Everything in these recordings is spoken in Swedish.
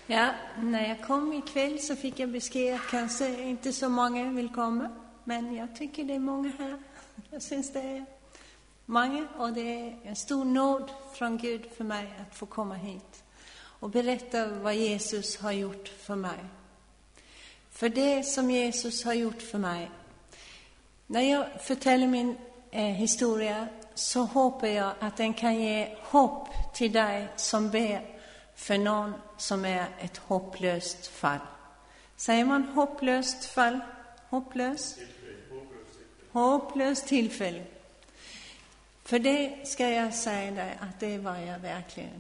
Ja, när jag kom ikväll så fick jag besked att kanske inte så många vill komma. Men jag tycker det är många här. Jag syns det är många, och det är en stor nåd från Gud för mig att få komma hit och berätta vad Jesus har gjort för mig. För det som Jesus har gjort för mig, när jag förtäller min historia, så hoppas jag att den kan ge hopp till dig som ber för någon som är ett hopplöst fall. Säger man hopplöst fall? Hopplöst tillfälle. För det ska jag säga dig att det var jag verkligen.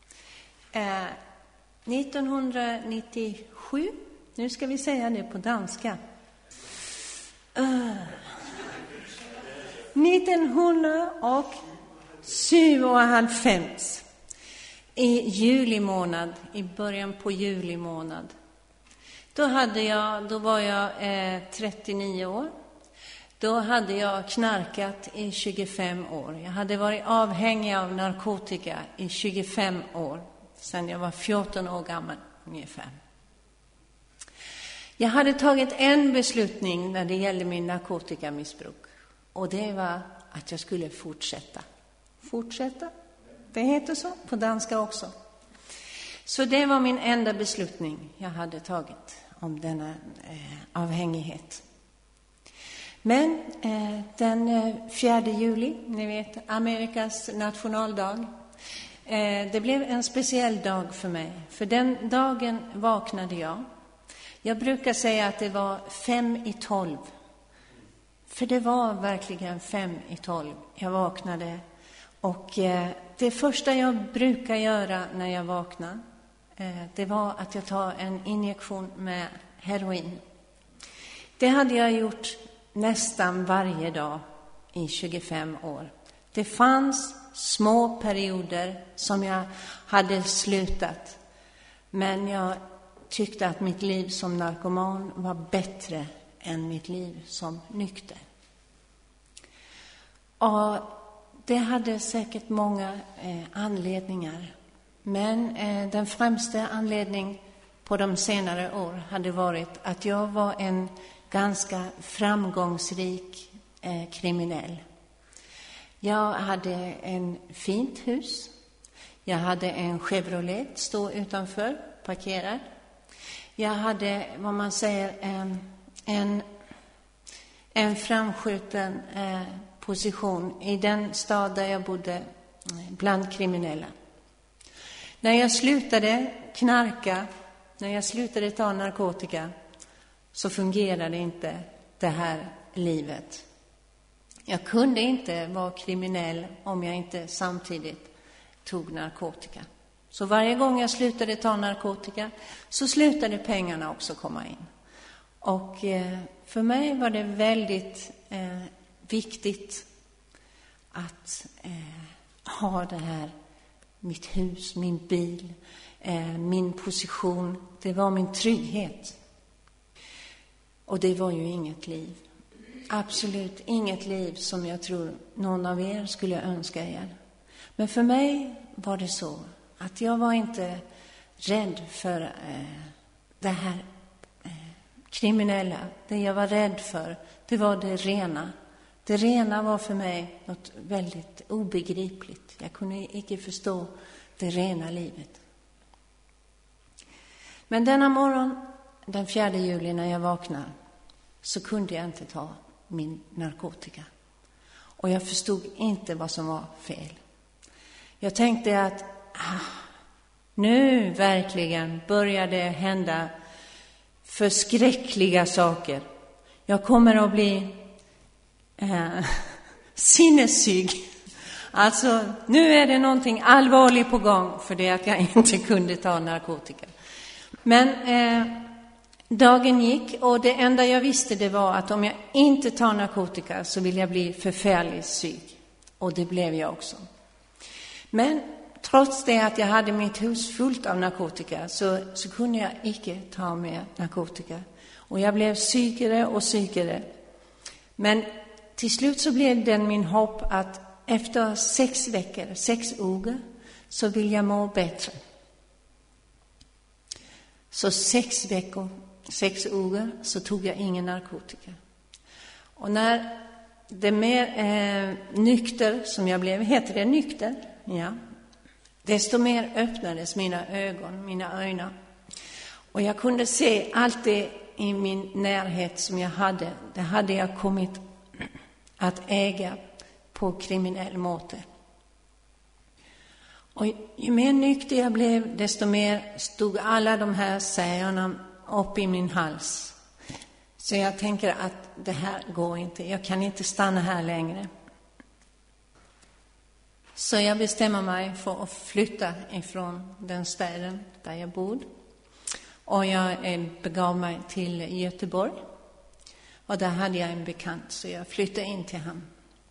1997, nu ska vi säga det på danska. 1997 i början på juli månad. Då var jag 39 år. Då hade jag knarkat i 25 år. Jag hade varit avhängig av narkotika i 25 år. Sedan jag var 14 år gammal ungefär. Jag hade tagit en beslutning när det gällde min narkotikamissbruk. Och det var att jag skulle fortsätta. Fortsätta? Det heter så på danska också. Så det var min enda beslutning jag hade tagit om denna avhängighet. Men den 4 juli, ni vet, Amerikas nationaldag, det blev en speciell dag för mig. För den dagen vaknade jag. Jag brukar säga att det var 5:12. För det var verkligen 5:12. Jag vaknade. Och det första jag brukar göra när jag vaknar, det var att jag tar en injektion med heroin. Det hade jag gjort nästan varje dag i 25 år. Det fanns små perioder som jag hade slutat. Men jag tyckte att mitt liv som narkoman var bättre än mitt liv som nykter. Och det hade säkert många anledningar. Men den främsta anledningen på de senare år hade varit att jag var en ganska framgångsrik kriminell. Jag hade en fint hus. Jag hade en Chevrolet stå utanför, parkerad. Jag hade, vad man säger, en framskjuten position i den stad där jag bodde bland kriminella. När jag slutade knarka, när jag slutade ta narkotika, så fungerade inte det här livet. Jag kunde inte vara kriminell om jag inte samtidigt tog narkotika. Så varje gång jag slutade ta narkotika så slutade pengarna också komma in. Och för mig var det väldigt viktigt att ha det här, mitt hus, min bil, min position. Det var min trygghet. Och det var ju inget liv. Absolut inget liv som jag tror någon av er skulle önska er. Men för mig var det så att jag var inte rädd för det här kriminella. Det jag var rädd för, det var det rena. Det rena var för mig något väldigt obegripligt. Jag kunde inte förstå det rena livet. Men denna morgon, den 4 juli när jag vaknade, så kunde jag inte ta min narkotika. Och jag förstod inte vad som var fel. Jag tänkte att nu verkligen började det hända förskräckliga saker. Jag kommer att bli sinnessyg. Alltså, nu är det någonting allvarligt på gång för det att jag inte kunde ta narkotika. Men dagen gick och det enda jag visste det var att om jag inte tar narkotika så vill jag bli förfärligt syk. Och det blev jag också. Men trots det att jag hade mitt hus fullt av narkotika så kunde jag inte ta mer narkotika. Och jag blev sykare och sykare. Men till slut så blev det min hopp att efter 6 veckor, 6 år, så vill jag må bättre. Så 6 år så tog jag ingen narkotika. Och när det mer nykter som jag blev, heter det nykter? Ja. Desto mer öppnades mina ögon. Och jag kunde se allt det i min närhet som jag hade. Det hade jag kommit att äga på kriminell måte. Och ju mer nykter jag blev, desto mer stod alla de här sägarna upp i min hals. Så jag tänker att det här går inte. Jag kan inte stanna här längre. Så jag bestämmer mig för att flytta ifrån den staden där jag bodde. Och jag begav mig till Göteborg. Och där hade jag en bekant, så jag flyttade in till honom.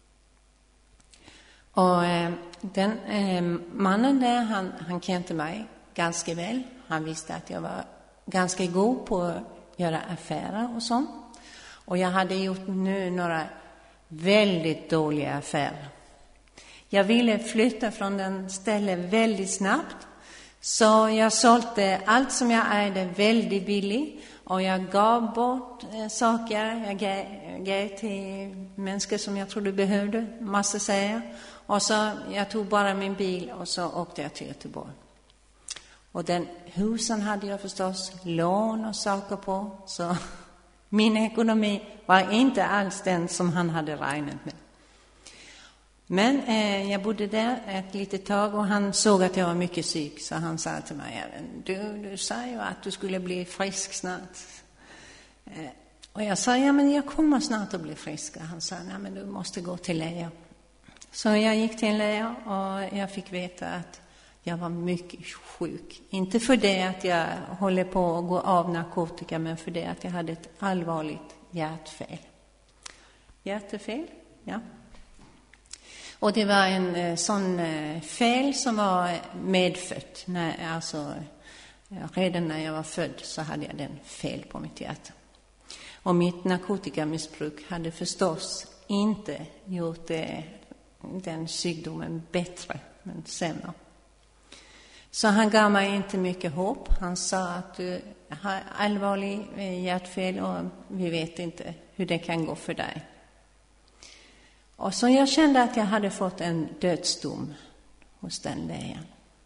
Och den mannen där, han kände mig ganska väl. Han visste att jag var ganska god på att göra affärer och sånt. Och jag hade gjort nu några väldigt dåliga affärer. Jag ville flytta från den stället väldigt snabbt. Så jag sålde allt som jag ägde väldigt billigt. Och jag gav bort saker. Jag gav till människor som jag trodde behövde. Massa säger. Och så jag tog bara min bil och så åkte jag till Göteborg. Och den husen hade jag förstås lån och saker på. Så min ekonomi var inte alls den som han hade räknat med. Men jag bodde där ett litet tag och han såg att jag var mycket syk. Så han sa till mig, du sa ju att du skulle bli frisk snart. Och jag sa, ja men jag kommer snart att bli frisk. Och han sa, nej men du måste gå till läkare. Så jag gick till en läkare och jag fick veta att jag var mycket sjuk. Inte för det att jag håller på att gå av narkotika, men för det att jag hade ett allvarligt hjärtfel. Hjärtefel? Ja. Och det var en sån fel som var medfött. Redan när jag var född så hade jag den fel på mitt hjärta. Och mitt narkotikamissbruk hade förstås inte gjort den sjukdomen bättre, men sämre. Så han gav mig inte mycket hopp. Han sa att du har allvarlig hjärtfel och vi vet inte hur det kan gå för dig. Och så jag kände att jag hade fått en dödsdom hos den läkaren.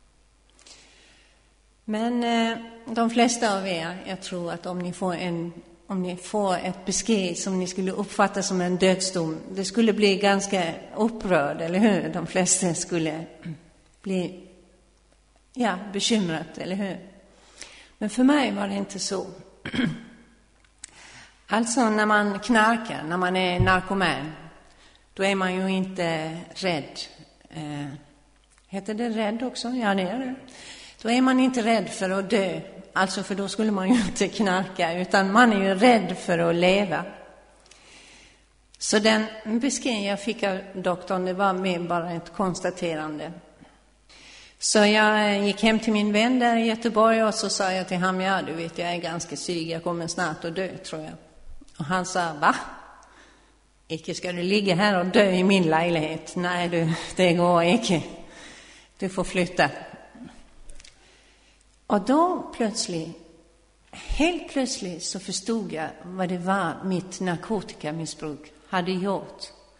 Men de flesta av er, jag tror att om ni får ett besked som ni skulle uppfatta som en dödsdom, det skulle bli ganska upprörd, eller hur? De flesta skulle bli bekymrat, eller hur? Men för mig var det inte så. Alltså när man knarkar, när man är narkoman, då är man ju inte rädd. Heter det rädd också? Ja, det är det. Då är man inte rädd för att dö. Alltså för då skulle man ju inte knarka, utan man är ju rädd för att leva. Så den beskrivning jag fick av doktorn, det var med bara ett konstaterande. Så jag gick hem till min vän där i Göteborg och så sa jag till honom, ja du vet jag är ganska syg, jag kommer snart att dö tror jag. Och han sa, va? Icke ska du ligga här och dö i min lägenhet. Nej du, det går icke. Du får flytta. Och då helt plötsligt så förstod jag vad det var mitt narkotikamissbruk hade gjort.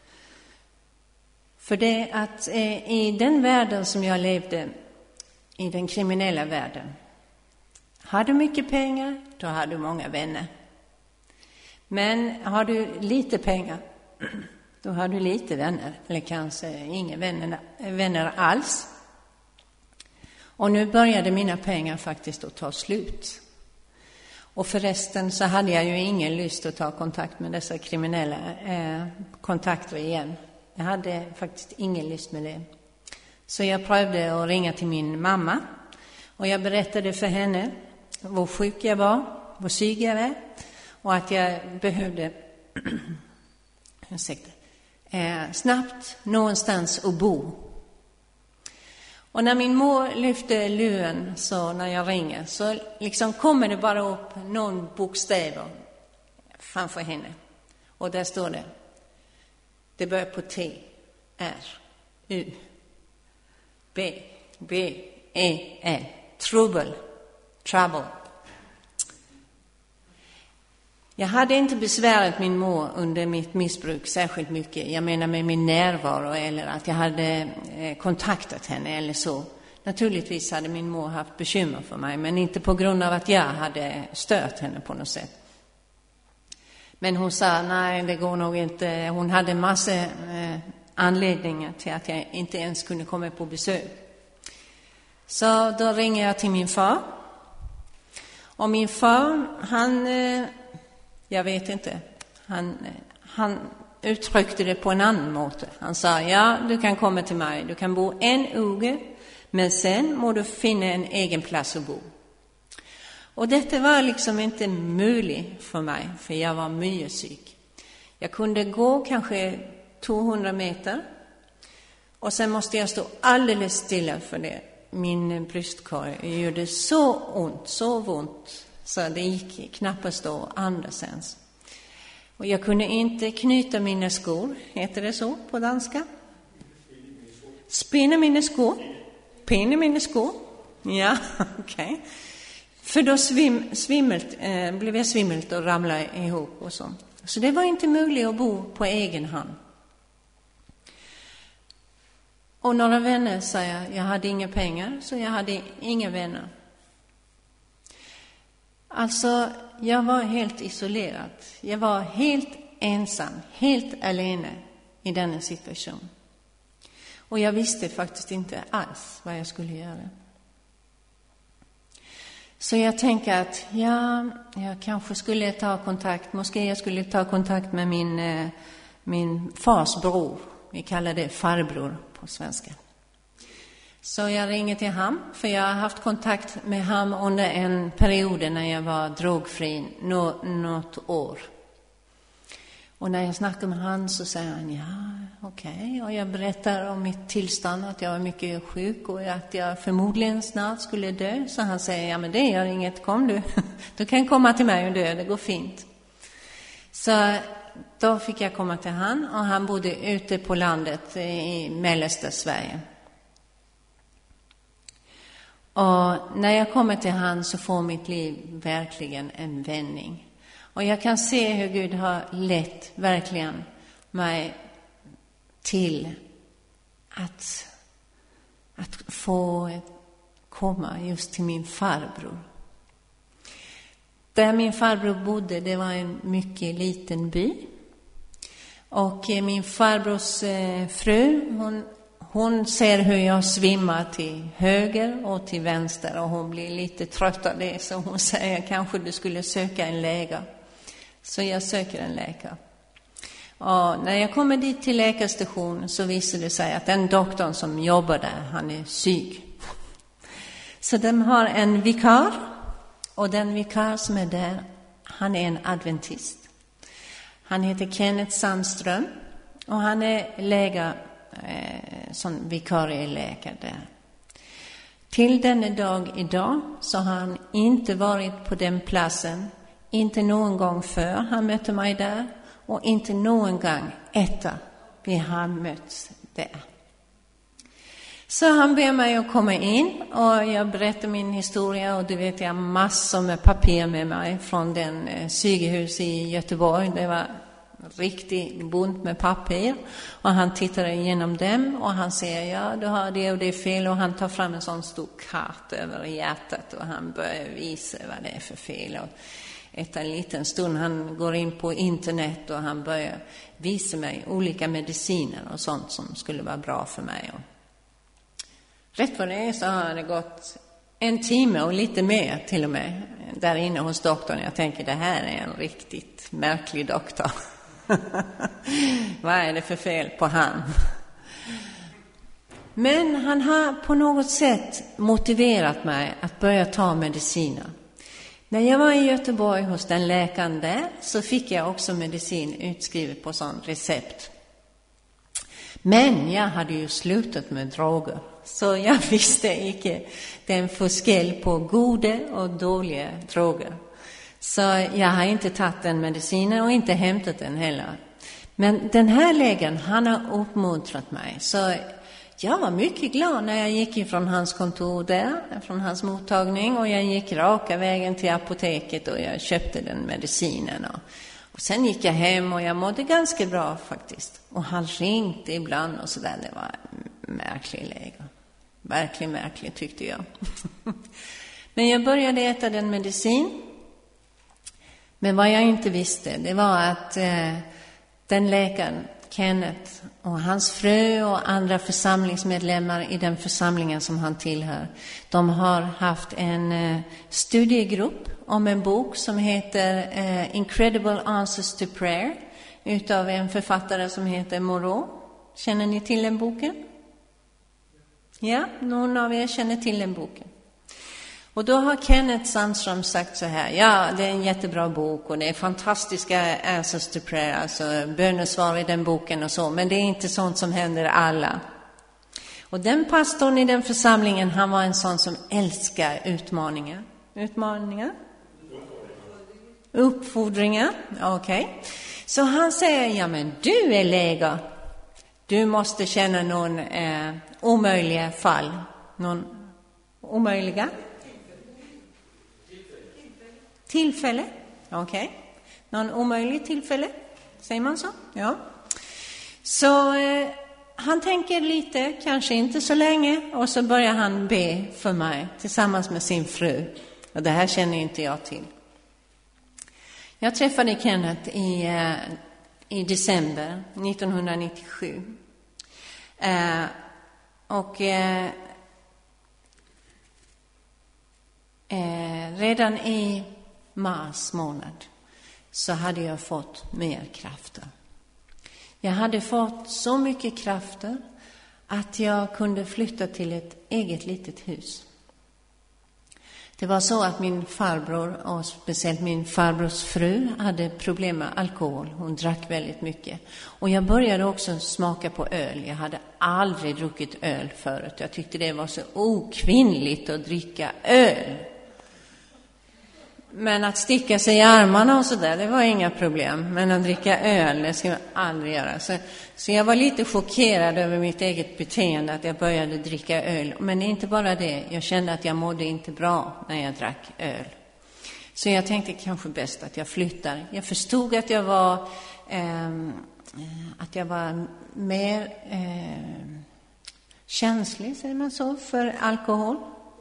För det att i den världen som jag levde, i den kriminella världen, har du mycket pengar, då har du många vänner. Men har du lite pengar, då har du lite vänner, eller kanske inga vänner alls. Och nu började mina pengar faktiskt att ta slut. Och förresten så hade jag ju ingen lust att ta kontakt med dessa kriminella kontakter igen. Jag hade faktiskt ingen lust med det. Så jag prövade att ringa till min mamma. Och jag berättade för henne hur sjuk jag var, hur syg jag var. Och att jag behövde snabbt någonstans att bo. Och när min mor lyfte luren så när jag ringer så liksom kommer det bara upp någon bokstäver framför henne. Och där står det. Det börjar på T, R, U, B, B, E, L. Trouble. Jag hade inte besvärat min mor under mitt missbruk särskilt mycket. Jag menar med min närvaro eller att jag hade kontaktat henne eller så. Naturligtvis hade min mor haft bekymmer för mig, men inte på grund av att jag hade stört henne på något sätt. Men hon sa, nej, det går nog inte. Hon hade massa anledningar till att jag inte ens kunde komma på besök. Så då ringer jag till min far. Och min far, jag vet inte, han uttryckte det på en annan måte. Han sa, ja, du kan komma till mig. Du kan bo en uge, men sen må du finna en egen plats att bo. Och detta var liksom inte möjligt för mig, för jag var mycket psyk. Jag kunde gå kanske 200 meter och sen måste jag stå alldeles stilla för det. Min bröstkorg gjorde så ont, så det gick knappast att andas ens. Och jag kunde inte knyta mina skor, heter det så på danska? Spinna mina skor? Pinna mina skor? Ja, okej. För då blev jag svimmelt och ramlade ihop och så. Så det var inte möjligt att bo på egen hand. Och några vänner säger, jag hade inga pengar, så jag hade inga vänner. Alltså, jag var helt isolerad. Jag var helt ensam, helt alene i denna situation. Och jag visste faktiskt inte alls vad jag skulle göra. Så jag tänker att jag kanske skulle ta kontakt, måske jag skulle ta kontakt med min fars bror. Vi kallar det farbror på svenska. Så jag ringer till ham, för jag har haft kontakt med ham under en period när jag var drogfri, något år. Och när jag snackar med han så säger han, ja, okej. Och jag berättar om mitt tillstånd, att jag var mycket sjuk och att jag förmodligen snart skulle dö. Så han säger, ja men det gör inget, kom du. Du kan komma till mig och dö, det går fint. Så då fick jag komma till han, och han bodde ute på landet i mellersta Sverige. Och när jag kommer till han så får mitt liv verkligen en vändning. Och jag kan se hur Gud har lett verkligen mig till att få komma just till min farbror. Där min farbror bodde, det var en mycket liten by. Och min farbrors fru, hon ser hur jag svimmar till höger och till vänster, och hon blir lite trött av det, så hon säger, kanske du skulle söka en läkare. Så jag söker en läkare. Och när jag kommer dit till läkarstationen så visar det sig att den doktorn som jobbar där, han är syk. Så de har en vikar, och den vikar som är där, han är en adventist. Han heter Kenneth Sandström, och han är läkare, som vikarieläkare där. Till denna dag idag så har han inte varit på den platsen, inte någon gång för han mötte mig där, och inte någon gång efter vi har mötts där. Så han ber mig att komma in, och jag berättar min historia, och du vet, jag har massor med papper med mig från den sjukhus i Göteborg. Det var riktigt bunt med papper, och han tittar igenom dem och han säger, ja, du har det och det fel, och han tar fram en sån stor karta över hjärtat och han börjar visa vad det är för fel. Och efter en liten stund han går in på internet och han börjar visa mig olika mediciner och sånt som skulle vara bra för mig. Och rätt vad det är så har det gått en timme och lite mer till och med där inne hos doktorn. Jag tänker, det här är en riktigt märklig doktor. Vad är det för fel på han? Men han har på något sätt motiverat mig att börja ta mediciner. När jag var i Göteborg hos den läkaren där så fick jag också medicin utskrivet på sån recept. Men jag hade ju slutat med droger, så jag visste inte den forskel på goda och dåliga droger. Så jag har inte tagit den medicinen och inte hämtat den heller. Men den här läkaren, han har uppmuntrat mig. Så jag var mycket glad när jag gick ifrån hans kontor där, från hans mottagning, och jag gick raka vägen till apoteket och jag köpte den medicinen. Och sen gick jag hem och jag mådde ganska bra faktiskt. Och han ringde ibland och sådär. Det var märklig läge. Verkligen märkligt tyckte jag. Men jag började äta den medicin. Men vad jag inte visste, det var att den läkaren, Kenneth, och hans fru och andra församlingsmedlemmar i den församlingen som han tillhör, de har haft en studiegrupp om en bok som heter Incredible Answers to Prayer utav en författare som heter Moreau. Känner ni till den boken? Ja, någon av er känner till den boken. Och då har Kenneth Sandström sagt så här: ja, det är en jättebra bok och det är fantastiska answers to prayer, alltså bönesvar i den boken och så, men det är inte sånt som händer alla. Och den pastorn i den församlingen, han var en sån som älskar utmaningar. Utmaningar? Uppfordringar, okej. Så han säger, ja men du är läge. Du måste känna någon omöjliga fall. Någon omöjliga? Tillfälle, okej. Någon omöjlig tillfälle, säger man så? Ja. Så han tänker lite, kanske inte så länge, och så börjar han be för mig tillsammans med sin fru. Och det här känner inte jag till. Jag träffade Kenneth i december 1997. Redan i mars månad så hade jag fått mer krafter. Jag hade fått så mycket krafter att jag kunde flytta till ett eget litet hus. Det var så att min farbror och speciellt min farbrors fru hade problem med alkohol. Hon drack väldigt mycket. Och jag började också smaka på öl. Jag hade aldrig druckit öl förut. Jag tyckte det var så okvinnligt att dricka öl. Men att sticka sig i armarna och sådär, det var inga problem. Men att dricka öl, det ska man aldrig göra. Så jag var lite chockerad över mitt eget beteende, att jag började dricka öl. Men inte bara det, jag kände att jag mådde inte bra när jag drack öl. Så jag tänkte kanske bäst att jag flyttar. Jag förstod att jag var mer känslig, säger man så, för alkohol.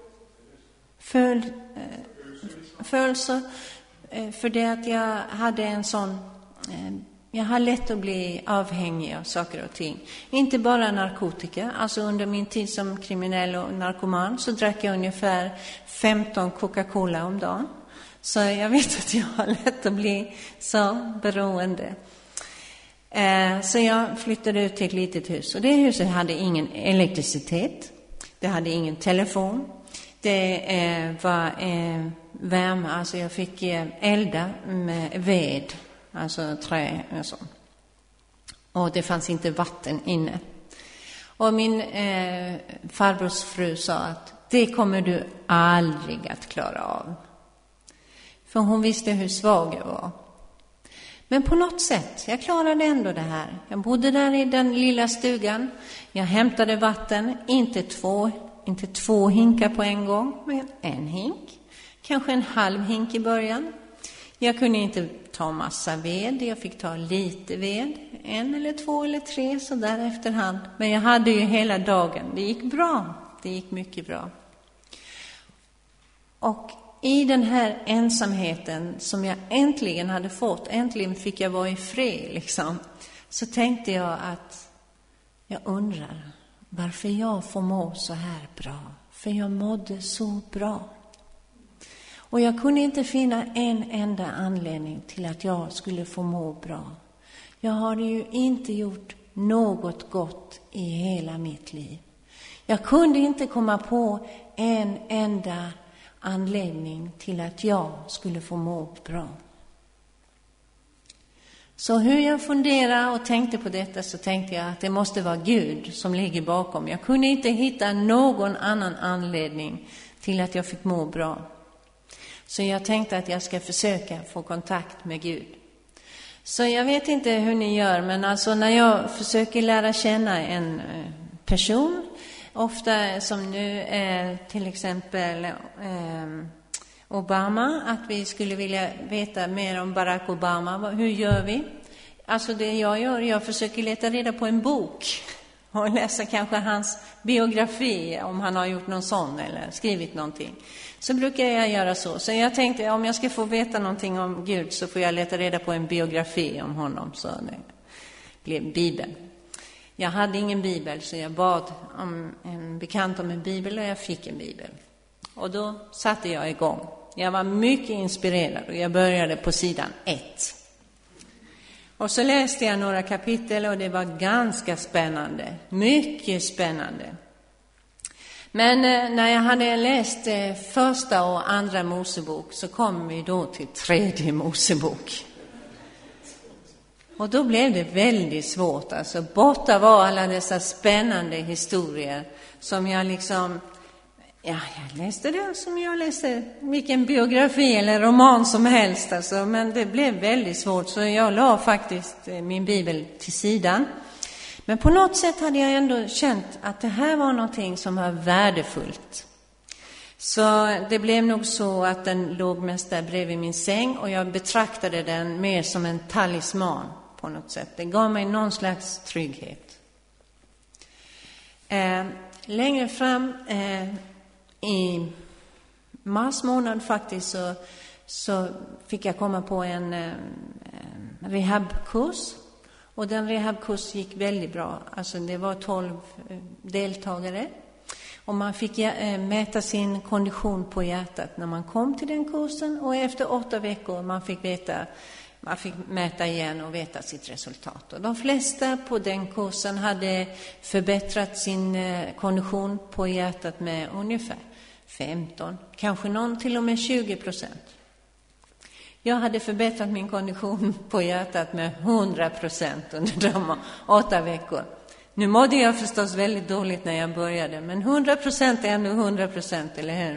För det att jag hade en sån, jag har lätt att bli avhängig av saker och ting. Inte bara narkotika, alltså under min tid som kriminell och narkoman så drack jag ungefär 15 Coca-Cola om dagen. Så jag vet att jag har lätt att bli så beroende. Så jag flyttade ut till ett litet hus, och det huset hade ingen elektricitet, det hade ingen telefon. Det var värme, alltså jag fick elda med ved, alltså trä och så. Och det fanns inte vatten inne. Och min farbrors fru sa att det kommer du aldrig att klara av. För hon visste hur svag jag var. Men på något sätt, jag klarade ändå det här. Jag bodde där i den lilla stugan. Jag hämtade vatten, inte två hinkar på en gång, men en hink. Kanske en halv hink i början. Jag kunde inte ta massa ved, jag fick ta lite ved. 1 eller 2 eller 3 så där efterhand. Men jag hade ju hela dagen. Det gick bra. Det gick mycket bra. Och i den här ensamheten som jag äntligen hade fått, äntligen fick jag vara i fred liksom. Så tänkte jag att jag undrar varför jag får må så här bra. För jag mådde så bra. Och jag kunde inte finna en enda anledning till att jag skulle få må bra. Jag hade ju inte gjort något gott i hela mitt liv. Jag kunde inte komma på en enda anledning till att jag skulle få må bra. Så hur jag funderade och tänkte på detta, så tänkte jag att det måste vara Gud som ligger bakom. Jag kunde inte hitta någon annan anledning till att jag fick må bra. Så jag tänkte att jag ska försöka få kontakt med Gud. Så jag vet inte hur ni gör, men alltså när jag försöker lära känna en person ofta som nu till exempel Obama, att vi skulle vilja veta mer om Barack Obama. Hur gör vi? Alltså det jag gör, jag försöker leta reda på en bok och läsa kanske hans biografi, om han har gjort någon sån eller skrivit någonting. Så brukar jag göra så. Så jag tänkte, om jag ska få veta någonting om Gud så får jag leta reda på en biografi om honom. Så det blev Bibeln. Jag hade ingen bibel, så jag bad om en bekant om en bibel och jag fick en bibel. Och då satte jag igång. Jag var mycket inspirerad och jag började på sidan 1. Och så läste jag några kapitel och det var ganska spännande. Mycket spännande. Men när jag hade läst första och andra Mosebok så kom vi då till tredje Mosebok. Och då blev det väldigt svårt. Alltså borta var alla dessa spännande historier som jag liksom... Ja, jag läste det som jag läste vilken biografi eller roman som helst. Alltså, men det blev väldigt svårt så jag la faktiskt min bibel till sidan. Men på något sätt hade jag ändå känt att det här var någonting som var värdefullt. Så det blev nog så att den låg mest där bredvid min säng och jag betraktade den mer som en talisman på något sätt. Det gav mig någon slags trygghet. Längre fram... I mars månad faktiskt så fick jag komma på en rehabkurs. Och den rehabkurs gick väldigt bra. Alltså det var 12 deltagare. Och man fick mäta sin kondition på hjärtat när man kom till den kursen. Och efter 8 veckor man fick mäta igen och veta sitt resultat. Och de flesta på den kursen hade förbättrat sin kondition på hjärtat med ungefär 15, kanske någon till och med 20%. Jag hade förbättrat min kondition på hjärtat med 100% under de 8 veckor. Nu mådde jag förstås väldigt dåligt när jag började, men 100% är ändå 100%, eller hur?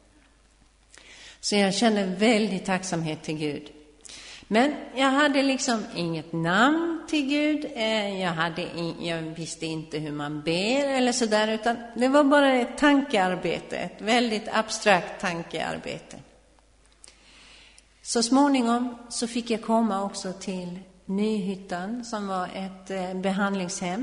Så jag kände väldigt tacksamhet till Gud. Men jag hade liksom inget namn till Gud. Jag visste inte hur man ber eller sådär, utan det var bara ett tankearbete, ett väldigt abstrakt tankearbete. Så småningom så fick jag komma också till Nyhyttan som var ett behandlingshem.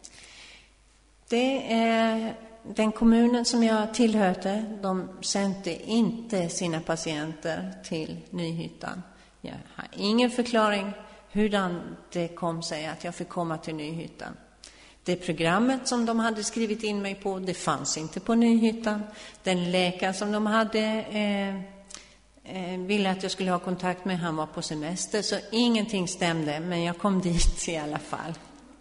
Den kommunen som jag tillhörde, de sände inte sina patienter till Nyhyttan. Jag har ingen förklaring hur det kom sig att jag fick komma till Nyhyttan. Det programmet som de hade skrivit in mig på, det fanns inte på Nyhyttan. Den läkare som de hade ville att jag skulle ha kontakt med, han var på semester. Så ingenting stämde, men jag kom dit i alla fall.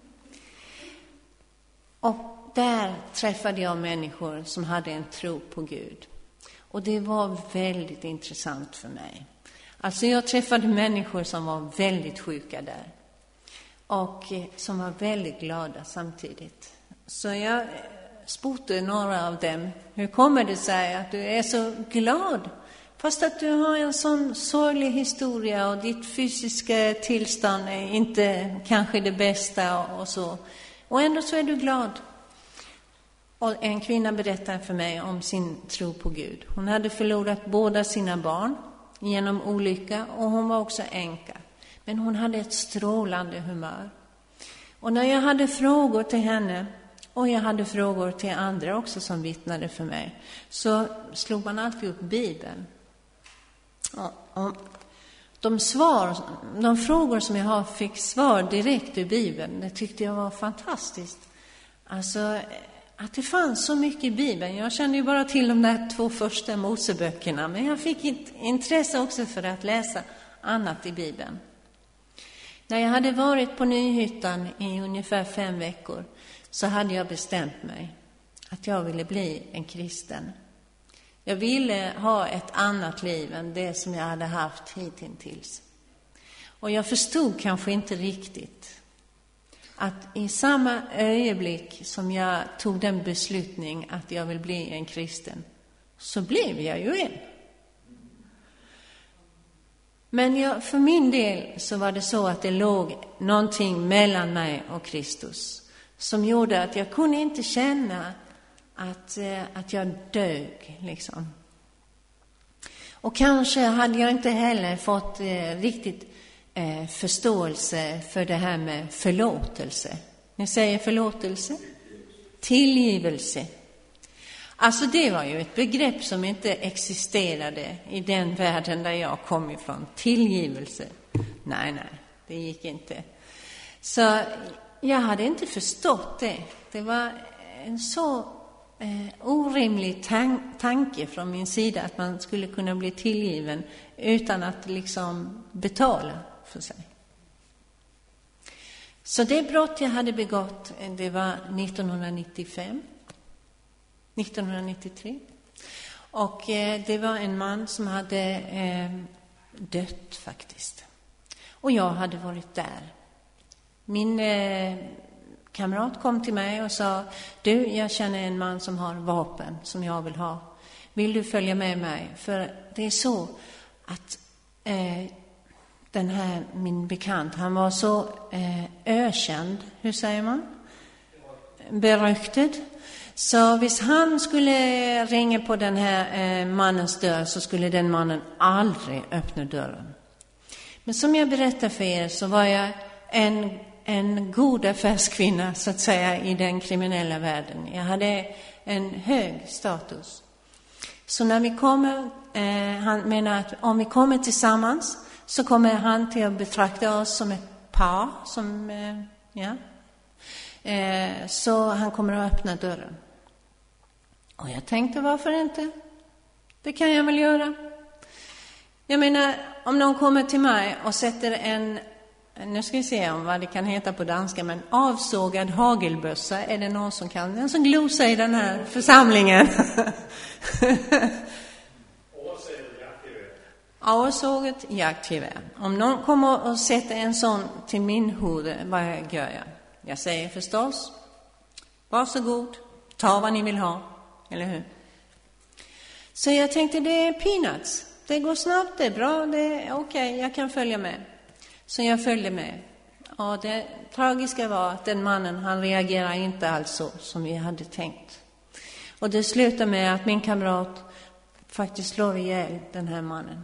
Och där träffade jag människor som hade en tro på Gud. Och det var väldigt intressant för mig. Alltså jag träffade människor som var väldigt sjuka där. Och som var väldigt glada samtidigt. Så jag spurtade några av dem. Hur kommer det sig att du är så glad? Fast att du har en sån sorglig historia och ditt fysiska tillstånd är inte kanske det bästa och så. Och ändå så är du glad. Och en kvinna berättade för mig om sin tro på Gud. Hon hade förlorat båda sina barn genom olycka och hon var också änka. Men hon hade ett strålande humör. Och när jag hade frågor till henne och jag hade frågor till andra också som vittnade för mig, så slog man alltid upp Bibeln. Och de frågor som jag fick svar direkt ur Bibeln, det tyckte jag var fantastiskt. Alltså att det fanns så mycket i Bibeln. Jag kände ju bara till de där 2 första Moseböckerna, men jag fick ett intresse också för att läsa annat i Bibeln. När jag hade varit på Nyhyttan i ungefär 5 veckor så hade jag bestämt mig att jag ville bli en kristen. Jag ville ha ett annat liv än det som jag hade haft hittills. Och jag förstod kanske inte riktigt att i samma ögonblick som jag tog den beslutning att jag vill bli en kristen, så blev jag ju en. Men för min del så var det så att det låg någonting mellan mig och Kristus som gjorde att jag kunde inte känna att jag dög liksom. Och kanske hade jag inte heller fått riktigt förståelse för det här med förlåtelse. Ni säger förlåtelse? Tillgivelse. Alltså det var ju ett begrepp som inte existerade i den världen där jag kom ifrån. Tillgivelse. Nej, det gick inte. Så jag hade inte förstått det. Det var en så orimlig tanke från min sida att man skulle kunna bli tillgiven utan att liksom betala för sig. Så det brott jag hade begått, det var 1993. Och det var en man som hade dött faktiskt. Och jag hade varit där. Min kamrat kom till mig och sa: du, jag känner en man som har vapen som jag vill ha. Vill du följa med mig? För det är så att den här, min bekant, han var så ökänd, hur säger man? Beryktad. Så hvis han skulle ringa på den här mannens dörr så skulle den mannen aldrig öppna dörren. Men som jag berättade för er så var jag en god affärskvinna så att säga i den kriminella världen. Jag hade en hög status. Så när vi kommer, han menar att om vi kommer tillsammans så kommer han till att betrakta oss som ett par. Så han kommer att öppna dörren. Och jag tänkte, varför inte? Det kan jag väl göra. Jag menar, om någon kommer till mig och sätter nu ska vi se om vad det kan heta på danska, men avsågad hagelbössa, är det någon som kan? Den som glosar i den här församlingen. Avsågat jaktgevär. Om någon kommer och sätter en sån till min huvud, vad gör jag? Jag säger förstås, varsågod, ta vad ni vill ha, eller hur? Så jag tänkte, det är peanuts. Det går snabbt, det är bra, det är okej, jag kan följa med. Så jag följde med. Och det tragiska var att den mannen, han reagerar inte alls så som vi hade tänkt. Och det slutar med att min kamrat faktiskt slår ihjäl den här mannen.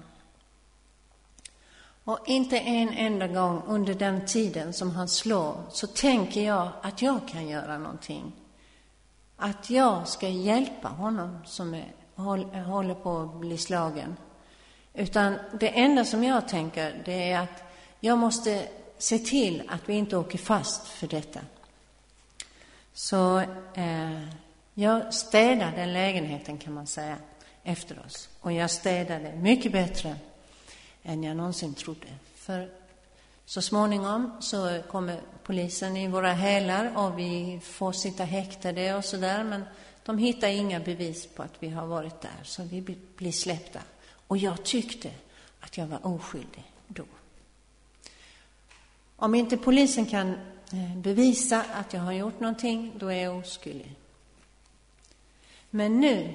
Och inte en enda gång under den tiden som han slår så tänker jag att jag kan göra någonting. Att jag ska hjälpa honom som håller på att bli slagen. Utan det enda som jag tänker, det är att jag måste se till att vi inte åker fast för detta. Så jag städade den lägenheten, kan man säga, efter oss. Och jag städade mycket bättre än jag någonsin trodde. För så småningom så kommer polisen i våra hälar och vi får sitta häktade och sådär. Men de hittar inga bevis på att vi har varit där, så vi blir släppta. Och jag tyckte att jag var oskyldig då. Om inte polisen kan bevisa att jag har gjort någonting, då är jag oskyldig. Men nu,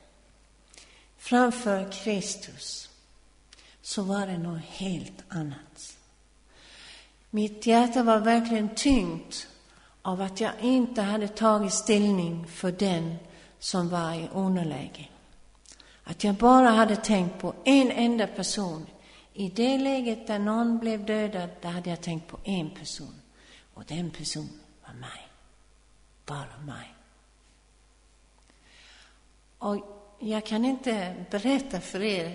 framför Kristus, så var det något helt annat. Mitt hjärta var verkligen tyngt av att jag inte hade tagit ställning för den som var i underläge. Att jag bara hade tänkt på en enda person. I det läget där någon blev dödad, där hade jag tänkt på en person. Och den personen var mig. Bara mig. Och jag kan inte berätta för er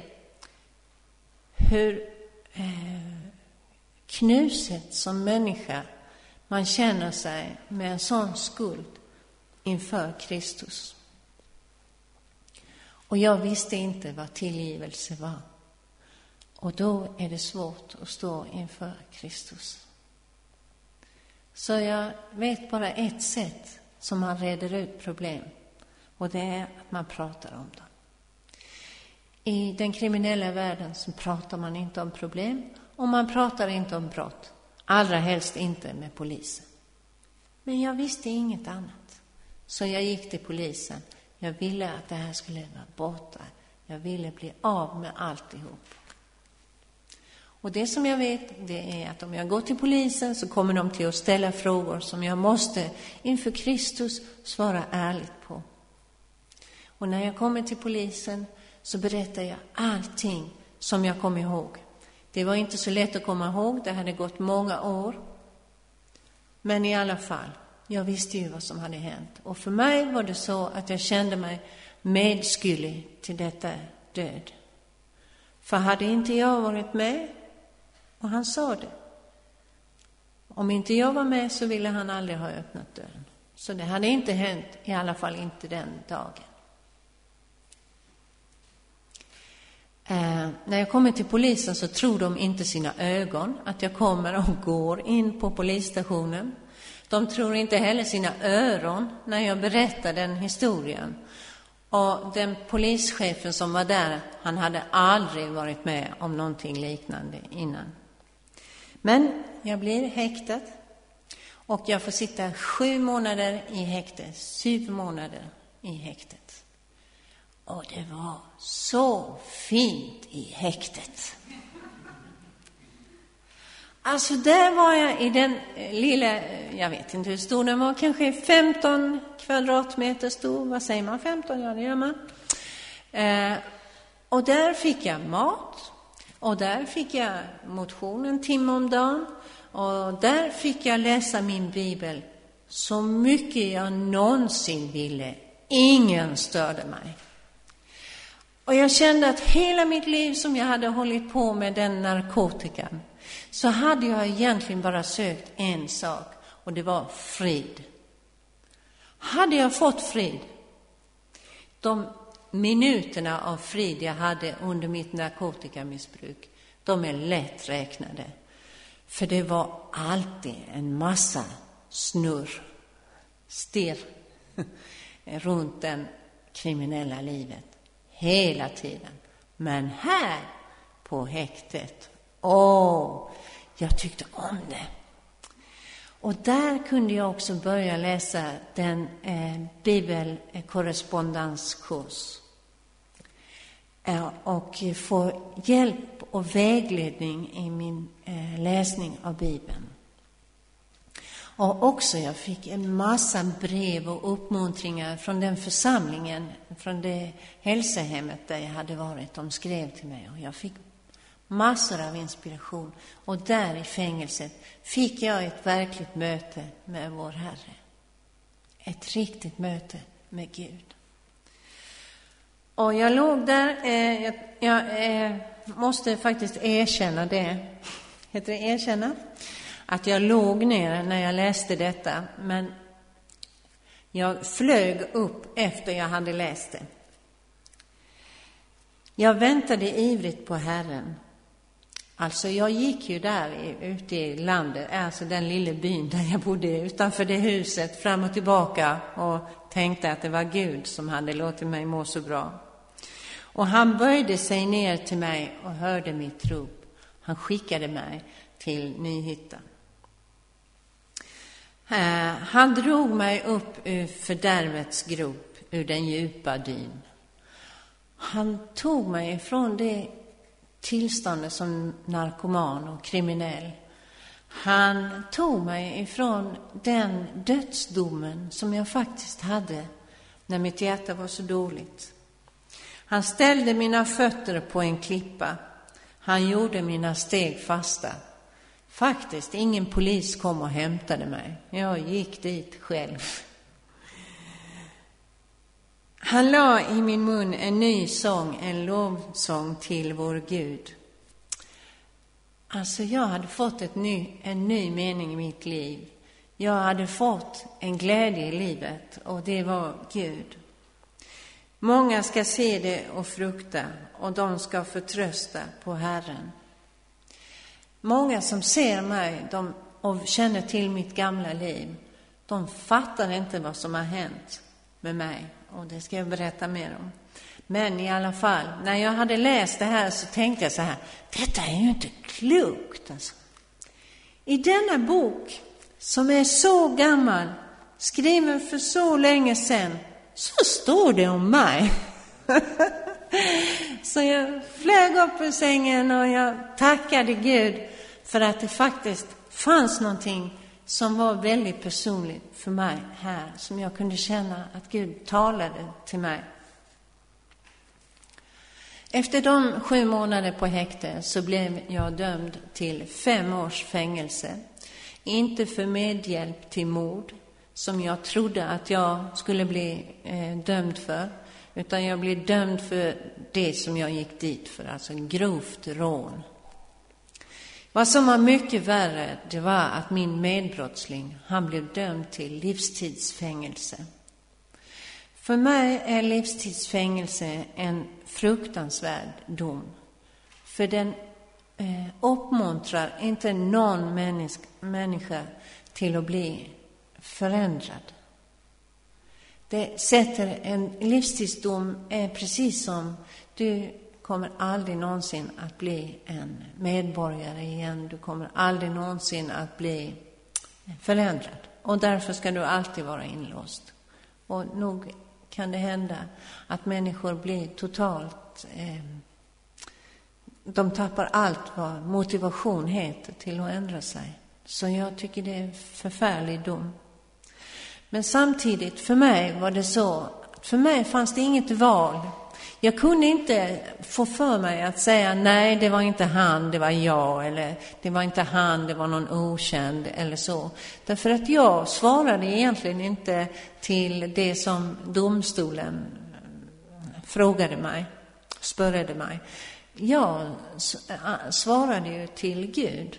hur knuset som människa man känner sig med en sån skuld inför Kristus. Och jag visste inte vad tillgivelse var. Och då är det svårt att stå inför Kristus. Så jag vet bara ett sätt som man reder ut problem. Och det är att man pratar om dem. I den kriminella världen så pratar man inte om problem. Och man pratar inte om brott. Allra helst inte med polisen. Men jag visste inget annat. Så jag gick till polisen. Jag ville att det här skulle vara borta. Jag ville bli av med alltihop. Och det som jag vet, det är att om jag går till polisen så kommer de till att ställa frågor som jag måste inför Kristus svara ärligt på. Och när jag kommer till polisen så berättar jag allting som jag kom ihåg. Det var inte så lätt att komma ihåg, det hade gått många år. Men i alla fall, jag visste ju vad som hade hänt. Och för mig var det så att jag kände mig medskyldig till detta död. För hade inte jag varit med, och han sa det, om inte jag var med så ville han aldrig ha öppnat dörren. Så det hade inte hänt, i alla fall inte den dagen. När jag kommer till polisen så tror de inte sina ögon att jag kommer och går in på polisstationen. De tror inte heller sina öron när jag berättar den historien. Och den polischefen som var där, han hade aldrig varit med om någonting liknande innan. Men jag blir häktad och jag får sitta 7 månader i häktet, 7 månader i häktet. Och det var så fint i häktet. Alltså där var jag i den lilla, jag vet inte hur stor den var, kanske 15 kvadratmeter stor. Vad säger man? 15? Ja, det gör man. Och där fick jag mat. Och där fick jag motion 1 timme om dagen. Och där fick jag läsa min bibel så mycket jag någonsin ville. Ingen störde mig. Och jag kände att hela mitt liv som jag hade hållit på med den narkotikan, så hade jag egentligen bara sökt en sak, och det var frid. Hade jag fått frid, de minuterna av frid jag hade under mitt narkotikamissbruk, de är lätt räknade. För det var alltid en massa stirr runt den kriminella livet. Hela tiden. Men här på häktet, jag tyckte om det. Och där kunde jag också börja läsa den bibelkorrespondenskurs. Och få hjälp och vägledning i min läsning av Bibeln. Och också jag fick en massa brev och uppmuntringar från den församlingen, från det hälsohemmet där jag hade varit. De skrev till mig och jag fick massor av inspiration. Och där i fängelset fick jag ett verkligt möte med vår Herre. Ett riktigt möte med Gud. Och jag låg där, jag måste faktiskt erkänna det. Heter det erkänna? Att jag låg ner när jag läste detta, men jag flög upp efter jag hade läst det. Jag väntade ivrigt på Herren. Alltså jag gick ju där ute i landet, alltså den lilla byn där jag bodde utanför det huset, fram och tillbaka, och tänkte att det var Gud som hade låtit mig må så bra. Och han böjde sig ner till mig och hörde mitt rop. Han skickade mig till Nyhyttan. Han drog mig upp ur fördärvets grop, ur den djupa dyn. Han tog mig ifrån det tillståndet som narkoman och kriminell. Han tog mig ifrån den dödsdomen som jag faktiskt hade när mitt hjärta var så dåligt. Han ställde mina fötter på en klippa. Han gjorde mina steg fasta. Faktiskt, ingen polis kom och hämtade mig. Jag gick dit själv. Han la i min mun en ny sång, en lovsång till vår Gud. Alltså jag hade fått en ny mening i mitt liv. Jag hade fått en glädje i livet, och det var Gud. Många ska se det och frukta, och de ska förtrösta på Herren. Många som ser mig och känner till mitt gamla liv, de fattar inte vad som har hänt med mig. Och det ska jag berätta mer om. Men i alla fall, när jag hade läst det här så tänkte jag så här: detta är ju inte klokt alltså. I denna bok som är så gammal, skriven för så länge sedan, så står det om mig. Så jag flög upp ur sängen och jag tackade Gud för att det faktiskt fanns någonting som var väldigt personligt för mig här, som jag kunde känna att Gud talade till mig. Efter de 7 månader på häkte så blev jag dömd till 5 års fängelse. Inte för medhjälp till mord, som jag trodde att jag skulle bli dömd för. Utan jag blev dömd för det som jag gick dit för, alltså grovt rån. Vad som var mycket värre, det var att min medbrottsling, han blev dömd till livstidsfängelse. För mig är livstidsfängelse en fruktansvärd dom. För den uppmuntrar inte någon människa till att bli förändrad. Det sätter en livstidsdom är precis som du kommer aldrig någonsin att bli en medborgare igen. Du kommer aldrig någonsin att bli förändrad. Och därför ska du alltid vara inlåst. Och nog kan det hända att människor blir totalt... de tappar allt vad motivation heter till att ändra sig. Så jag tycker det är en förfärlig dom. Men samtidigt, för mig var det så. För mig fanns det inget val. Jag kunde inte få för mig att säga nej, det var inte han, det var jag. Eller det var inte han, det var någon okänd eller så. Därför att jag svarade egentligen inte till det som domstolen spörade mig. Jag svarade ju till Gud.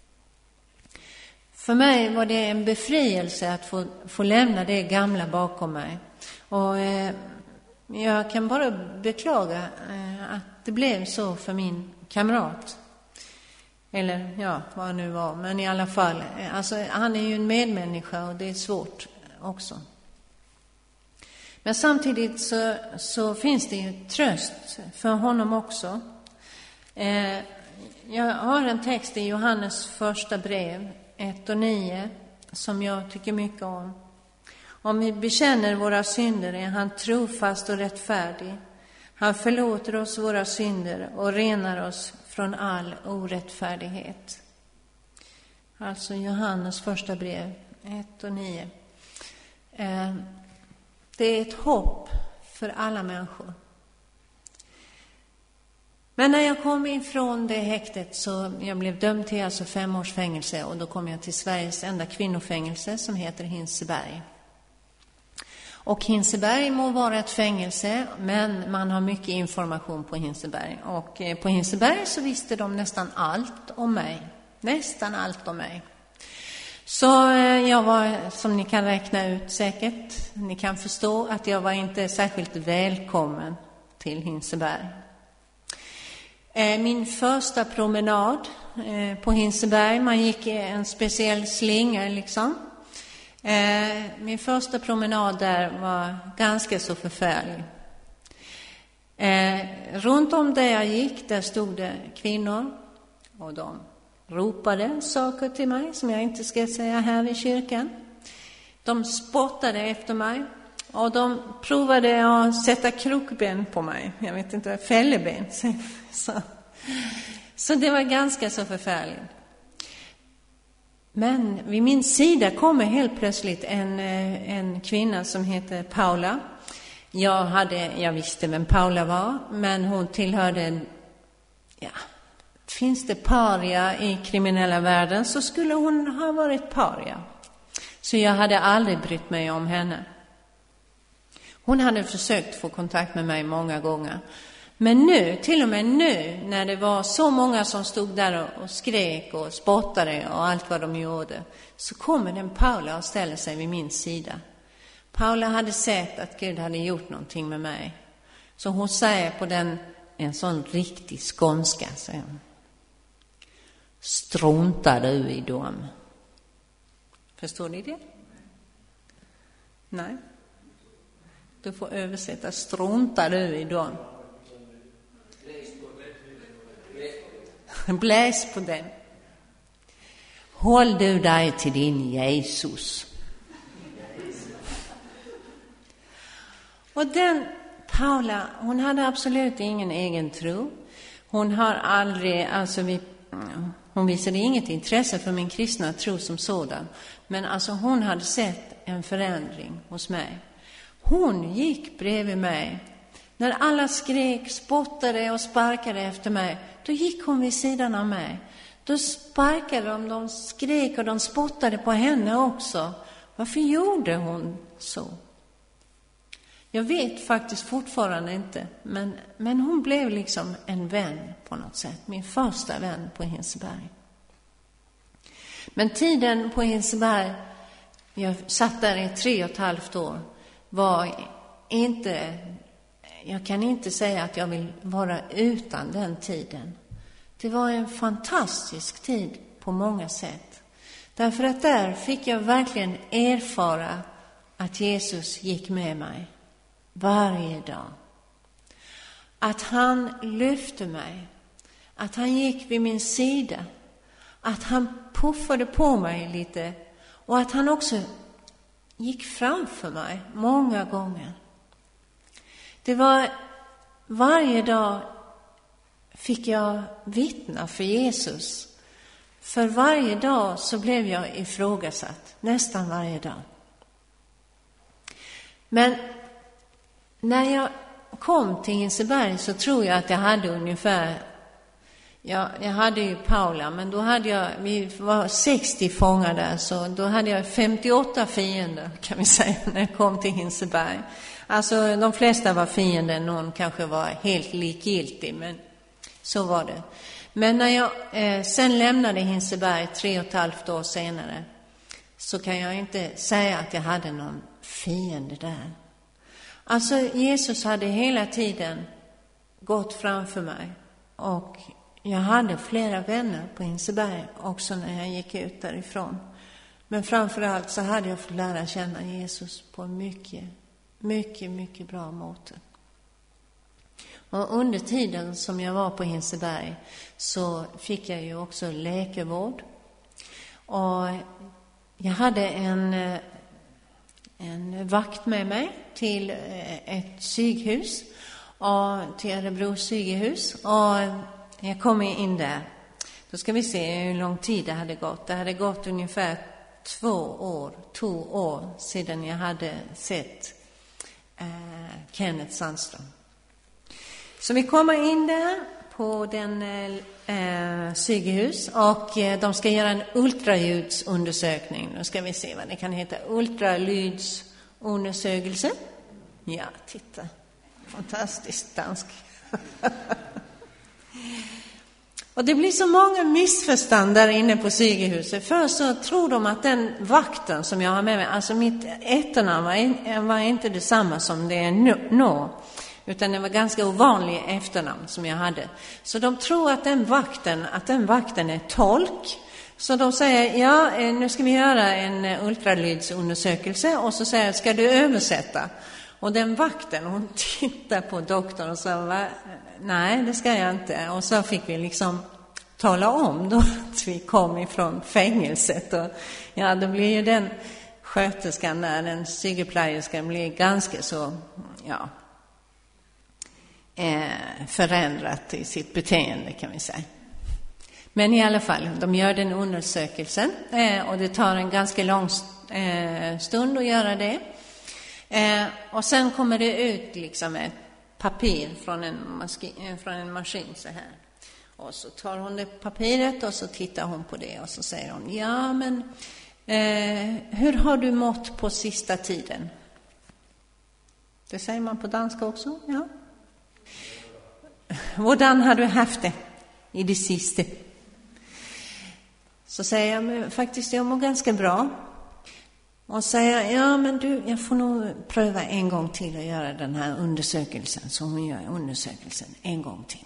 För mig var det en befrielse att få lämna det gamla bakom mig. Och jag kan bara beklaga att det blev så för min kamrat. Eller ja, vad det nu var. Men i alla fall, alltså, han är ju en medmänniska och det är svårt också. Men samtidigt så finns det ju tröst för honom också. Jag har en text i Johannes första brev 1:9 som jag tycker mycket om. Om vi bekänner våra synder är han trofast och rättfärdig. Han förlåter oss våra synder och renar oss från all orättfärdighet. Alltså Johannes första brev 1:9. Det är ett hopp för alla människor. Men när jag kom ifrån det häktet så jag blev dömd till alltså 5 års fängelse och då kom jag till Sveriges enda kvinnofängelse som heter Hinseberg. Och Hinseberg må vara ett fängelse, men man har mycket information på Hinseberg. Och på Hinseberg så visste de nästan allt om mig. Nästan allt om mig. Så jag var, som ni kan räkna ut säkert, ni kan förstå att jag var inte särskilt välkommen till Hinseberg. Min första promenad på Hinseberg, man gick en speciell slinga liksom. Min första promenad där var ganska så förfärlig. Runt om där jag gick, där stod det kvinnor och de ropade saker till mig som jag inte ska säga här i kyrkan. De spottade efter mig och de provade att sätta krokben på mig. Jag vet inte, fälleben. Så det var ganska så förfärligt. Men vid min sida kommer helt plötsligt en kvinna som heter Paula. Jag visste vem Paula var, men hon tillhörde, finns det paria i kriminella världen så skulle hon ha varit paria. Så jag hade aldrig brytt mig om henne. Hon hade försökt få kontakt med mig många gånger. Men nu, till och med nu, när det var så många som stod där och skrek och spottade och allt vad de gjorde, så kommer den Paula och ställer sig vid min sida. Paula hade sett att Gud hade gjort någonting med mig. Så hon säger på en sån riktig skånska, säger hon: struntar du i dem? Förstår ni det? Nej. Du får översätta, struntar du i dem? Bläs på den. Håll du dig till din Jesus. Och den Paula, hon hade absolut ingen egen tro. Hon har aldrig, hon visade inget intresse för min kristna tro som sådan. Men alltså hon hade sett en förändring hos mig. Hon gick bredvid mig När alla skrek, spottade och sparkade efter mig, då gick hon vid sidan av mig. Då sparkade de skrek och de spottade på henne också. Varför gjorde hon så? Jag vet faktiskt fortfarande inte, men hon blev liksom en vän på något sätt. Min första vän på Hinseberg. Men tiden på Hinseberg, jag satt där i 3,5 år, var inte, jag kan inte säga att jag vill vara utan den tiden. Det var en fantastisk tid på många sätt. Därför att där fick jag verkligen erfara att Jesus gick med mig varje dag. Att han lyfte mig. Att han gick vid min sida. Att han puffade på mig lite. Och att han också gick framför mig många gånger. Det var varje dag fick jag vittna för Jesus. För varje dag så blev jag ifrågasatt. Nästan varje dag. Men när jag kom till Hinseberg så tror jag att jag hade ungefär, jag hade ju Paula, men då hade vi var 60 fångar där, så då hade jag 58 fiender kan vi säga när jag kom till Hinseberg. Alltså de flesta var fiender, någon kanske var helt likgiltig, men så var det. Men när jag sen lämnade Hinseberg 3,5 år senare, så kan jag inte säga att jag hade någon fiende där. Alltså Jesus hade hela tiden gått framför mig, och jag hade flera vänner på Hinseberg också när jag gick ut därifrån. Men framförallt så hade jag fått lära känna Jesus på mycket, mycket, mycket bra måte. Och under tiden som jag var på Hinseberg så fick jag ju också läkarvård. Och jag hade en vakt med mig till ett psykhus, och till Örebro psykhus. Och jag kom in där. Då ska vi se hur lång tid det hade gått. Det hade gått ungefär 2 år sedan jag hade sett Kenneth Sandström. Så vi kommer in där på den psykhus, och de ska göra en ultraljudsundersökning. Nu ska vi se vad det kan heta. Ultraljudsundersökelse. Ja, titta. Fantastiskt dansk. Och det blir så många missförstånd där inne på psykhuset. Först så tror de att den vakten som jag har med mig, alltså mitt efternamn var inte detsamma som det är nu. Utan det var ganska ovanlig efternamn som jag hade. Så de tror att den vakten är tolk. Så de säger, ja, nu ska vi göra en ultraljudsundersökelse. Och så säger jag, ska du översätta? Och den vakten, hon tittar på doktorn och sa, nej, det ska jag inte. Och så fick vi liksom tala om då att vi kom ifrån fängelset. Och ja, då blir ju den sköterskan där, den psykoplejerskan, blir ganska så, ja, förändrat i sitt beteende kan vi säga. Men i alla fall, de gör den undersökelsen, och det tar en ganska lång stund att göra det. Och sen kommer det ut liksom ett papper från en maskin så här. Och så tar hon det papiret och så tittar hon på det och så säger hon, ja men hur har du mått på sista tiden? Det säger man på danska också, ja. Hvordan har du haft det i det sista? Så säger jag, men faktiskt jag mår ganska bra. Och säger, ja men du, jag får nog pröva en gång till att göra den här undersökelsen. Så hon gör undersökelsen en gång till.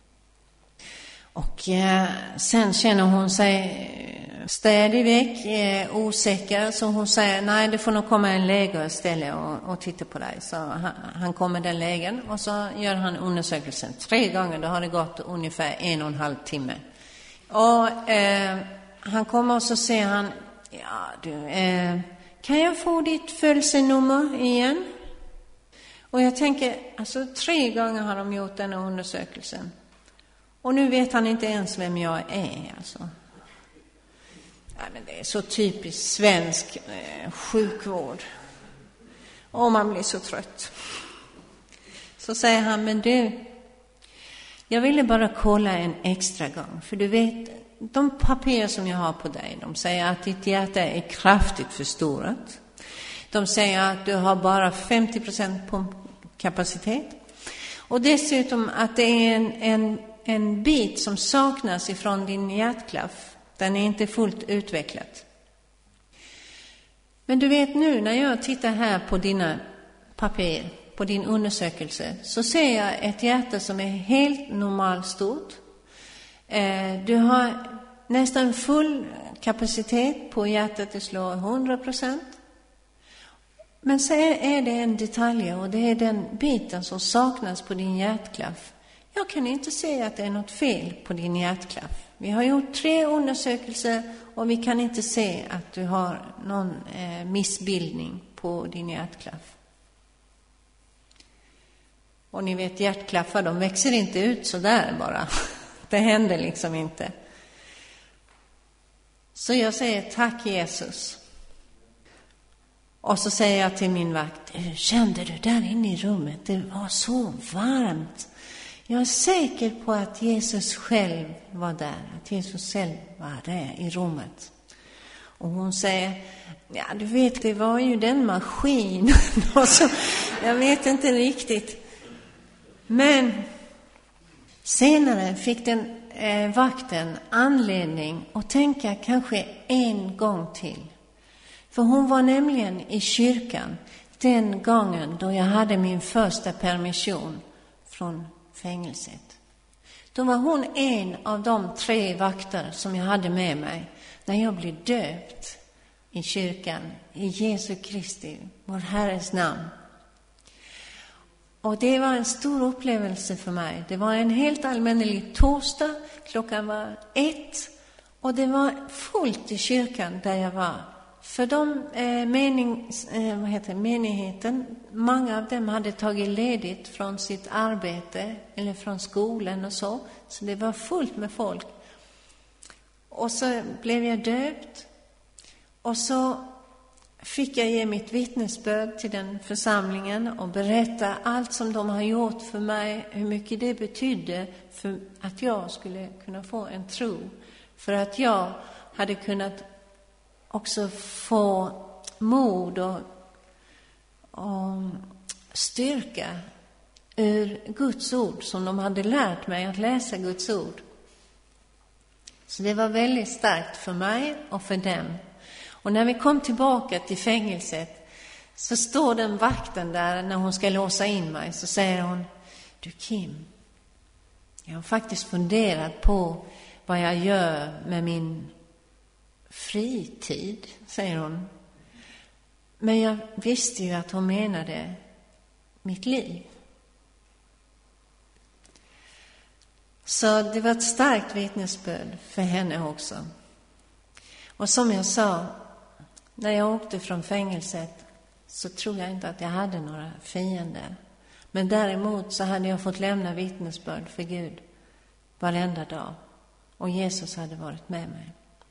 Och sen känner hon sig stadigväck osäker. Så hon säger, nej det får nog komma en läkare istället och titta på dig. Så han kommer den lägen och så gör han undersökelsen 3 gånger. Då har det gått ungefär 1,5 timme. Och han kommer och så säger han, ja du, kan jag få ditt födelsenummer igen? Och jag tänker, alltså 3 gånger har de gjort den undersökelsen. Och nu vet han inte ens vem jag är, alltså. Ja, men det är så typiskt svensk sjukvård. Och man blir så trött. Så säger han, men du, jag ville bara kolla en extra gång. För du vet, de papper som jag har på dig, de säger att ditt hjärta är kraftigt förstorat. De säger att du har bara 50% pumpkapacitet. Och dessutom att det är en bit som saknas ifrån din hjärtklaff. Den är inte fullt utvecklad. Men du vet nu när jag tittar här på dina papper, på din undersökelse, så ser jag ett hjärta som är helt normalt stort. Du har nästan full kapacitet på hjärtat, det slår 100%. Men så är det en detalj, och det är den biten som saknas på din hjärtklaff. Jag kan inte se att det är något fel på din hjärtklaff. Vi har gjort 3 undersökelser och vi kan inte se att du har någon missbildning på din hjärtklaff. Och ni vet, hjärtklaffar, de växer inte ut så där bara. Det händer liksom inte. Så jag säger tack Jesus. Och så säger jag till min vakt, kände du där inne i rummet? Det var så varmt. Jag är säker på att Jesus själv var där. Att Jesus själv var där i rummet. Och hon säger, ja du vet, det var ju den maskinen. Och så, jag vet inte riktigt. Men senare fick den vakten anledning att tänka kanske en gång till. För hon var nämligen i kyrkan den gången då jag hade min första permission från fängelset. Då var hon en av de 3 vakter som jag hade med mig när jag blev döpt i kyrkan i Jesu Kristi, vår Herres namn. Och det var en stor upplevelse för mig. Det var en helt allmännelig torsdag, klockan var 1 och det var fullt i kyrkan där jag var. För de menigheten, många av dem hade tagit ledigt från sitt arbete eller från skolan och så det var fullt med folk. Och så blev jag döpt och så fick jag ge mitt vittnesbörd till den församlingen och berätta allt som de har gjort för mig, hur mycket det betydde för att jag skulle kunna få en tro, för att jag hade kunnat också få mod och styrka ur Guds ord som de hade lärt mig att läsa Guds ord. Så det var väldigt starkt för mig och för dem. Och när vi kom tillbaka till fängelset så står den vakten där när hon ska låsa in mig, så säger hon, du Kim, jag har faktiskt funderat på vad jag gör med min fritid, säger hon. Men jag visste ju att hon menade mitt liv. Så det var ett starkt vittnesbörd för henne också. Och som jag sa, när jag åkte från fängelset så tror jag inte att jag hade några fiender. Men däremot så hade jag fått lämna vittnesbörd för Gud varenda dag. Och Jesus hade varit med mig.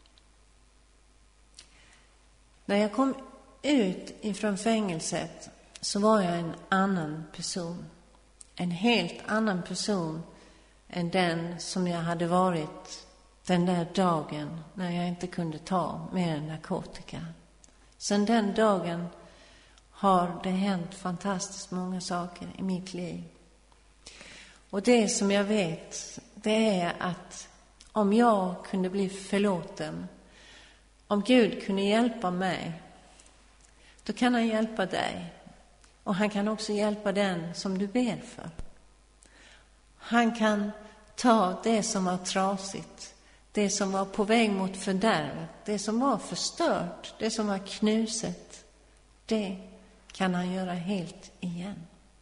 När jag kom ut ifrån fängelset så var jag en annan person. En helt annan person än den som jag hade varit den där dagen när jag inte kunde ta mer narkotika. Sedan den dagen har det hänt fantastiskt många saker i mitt liv. Och det som jag vet, det är att om jag kunde bli förlåten, om Gud kunde hjälpa mig, då kan han hjälpa dig. Och han kan också hjälpa den som du ber för. Han kan ta det som var trasigt, det som var på väg mot fördärvet, det som var förstört, det som var knuset, det kan han göra helt igen.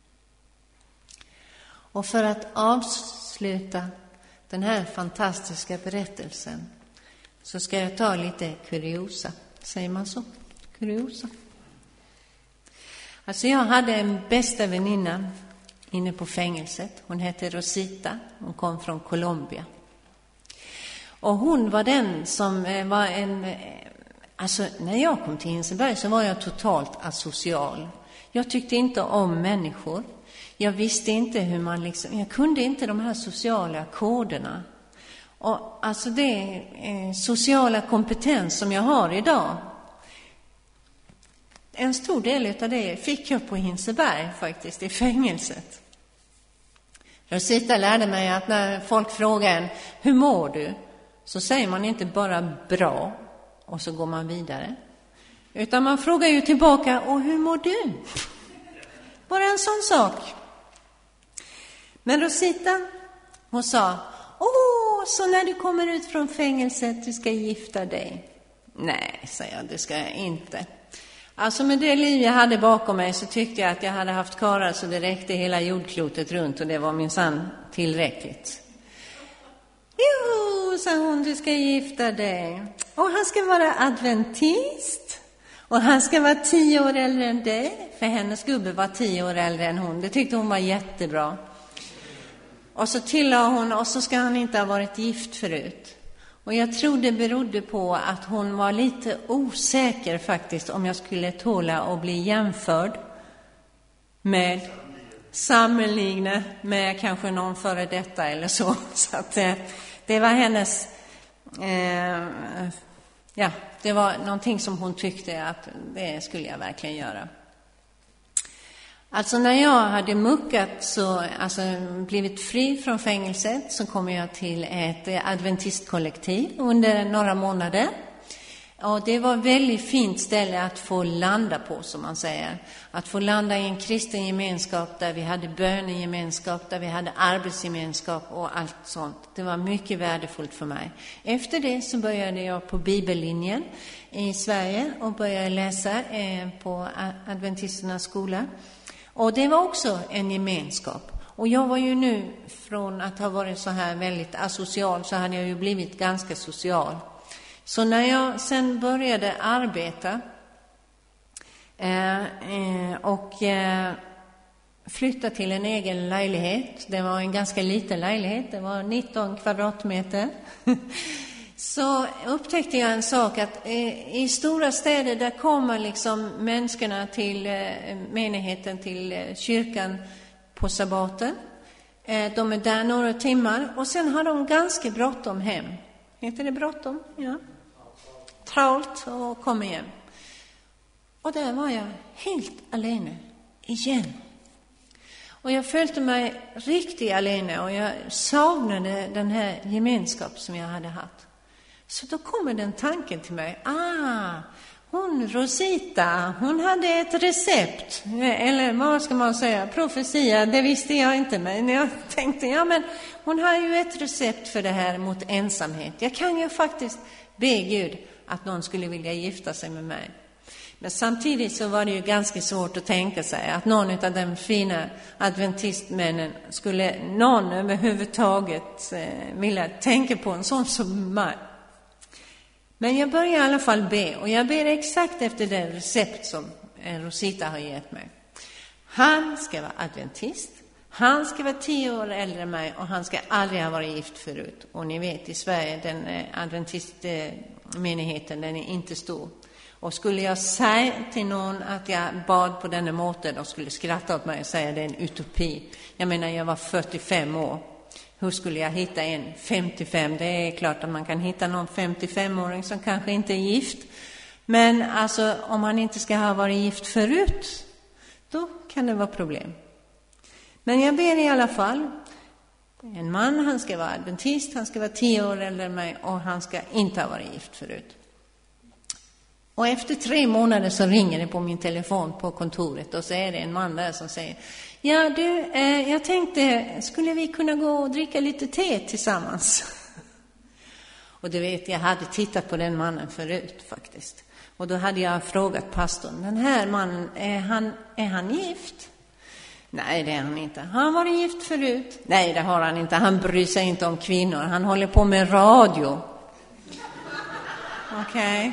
Och för att avsluta den här fantastiska berättelsen så ska jag ta lite kuriosa. Säger man så? Kuriosa. Alltså jag hade en bästa väninna inne på fängelset. Hon hette Rosita. Hon kom från Colombia. Och hon var den som var alltså när jag kom till Hinseberg så var jag totalt asocial. Jag tyckte inte om människor. Jag visste inte hur man jag kunde inte de här sociala koderna. Och alltså det sociala kompetens som jag har idag, en stor del av det fick jag på Hinseberg faktiskt, i fängelset. Rosita lärde mig att när folk frågar en, hur mår du? Så säger man inte bara bra och så går man vidare. Utan man frågar ju tillbaka, och hur mår du? Bara en sån sak. Men Rosita, hon sa, så när du kommer ut från fängelset, du ska gifta dig? Nej, säger jag, det ska jag inte. Alltså med det liv jag hade bakom mig så tyckte jag att jag hade haft karlar så det räckte hela jordklotet runt, och det var minsann tillräckligt. Jo, sa hon, du ska gifta dig. Och han ska vara adventist. Och han ska vara 10 år äldre än dig. För hennes gubbe var 10 år äldre än hon. Det tyckte hon var jättebra. Och så tillade hon, och så ska han inte ha varit gift förut. Och jag tror det berodde på att hon var lite osäker faktiskt om jag skulle tåla att bli jämförd med sammanliggande med kanske någon före detta eller så. Så att det var hennes, det var någonting som hon tyckte att det skulle jag verkligen göra. Alltså när jag hade blivit fri från fängelset, så kom jag till ett adventistkollektiv under några månader. Och det var ett väldigt fint ställe att få landa på, som man säger. Att få landa i en kristen gemenskap där vi hade bönegemenskap, där vi hade arbetsgemenskap och allt sånt. Det var mycket värdefullt för mig. Efter det så började jag på bibellinjen i Sverige och började läsa på adventisternas skola. Och det var också en gemenskap. Och jag var ju nu, från att ha varit så här väldigt asocial, så hade jag ju blivit ganska social. Så när jag sen började arbeta och flytta till en egen lägenhet, det var en ganska liten lägenhet, det var 19 kvadratmeter, så upptäckte jag en sak, att i stora städer där kommer liksom människorna till menigheten, till kyrkan på sabbaten. De är där några timmar och sen har de ganska bråttom hem. Heter det bråttom? Ja. Trålt och kom igen. Och där var jag helt alene igen. Och jag följde mig riktigt alene och jag saknade den här gemenskap som jag hade haft. Så då kommer den tanken till mig. Hon Rosita, hon hade ett recept. Eller vad ska man säga? Profetia, det visste jag inte. Men jag tänkte, men hon har ju ett recept för det här mot ensamhet. Jag kan ju faktiskt be Gud att någon skulle vilja gifta sig med mig. Men samtidigt så var det ju ganska svårt att tänka sig att någon av de fina adventistmännen skulle någon överhuvudtaget vilja tänka på en sån som mig. Men jag börjar i alla fall be, och jag ber exakt efter det recept som Rosita har gett mig. Han ska vara adventist, han ska vara 10 år äldre än mig och han ska aldrig ha varit gift förut. Och ni vet, i Sverige, den adventistmenigheten, den är inte stor. Och skulle jag säga till någon att jag bad på denna måten, de skulle skratta åt mig och säga att det är en utopi. Jag menar, jag var 45 år. Hur skulle jag hitta en 55? Det är klart att man kan hitta någon 55-åring som kanske inte är gift. Men alltså, om han inte ska ha varit gift förut, då kan det vara problem. Men jag ber i alla fall. En man, han ska vara adventist, han ska vara 10 år äldre än mig och han ska inte ha varit gift förut. Och efter 3 månader så ringer det på min telefon på kontoret och så är det en man där som säger: ja du, jag tänkte, skulle vi kunna gå och dricka lite te tillsammans? Och du vet, jag hade tittat på den mannen förut faktiskt. Och då hade jag frågat pastorn, den här mannen, är han gift? Nej, det är han inte. Har han varit gift förut? Nej, det har han inte. Han bryr sig inte om kvinnor. Han håller på med radio. Okej.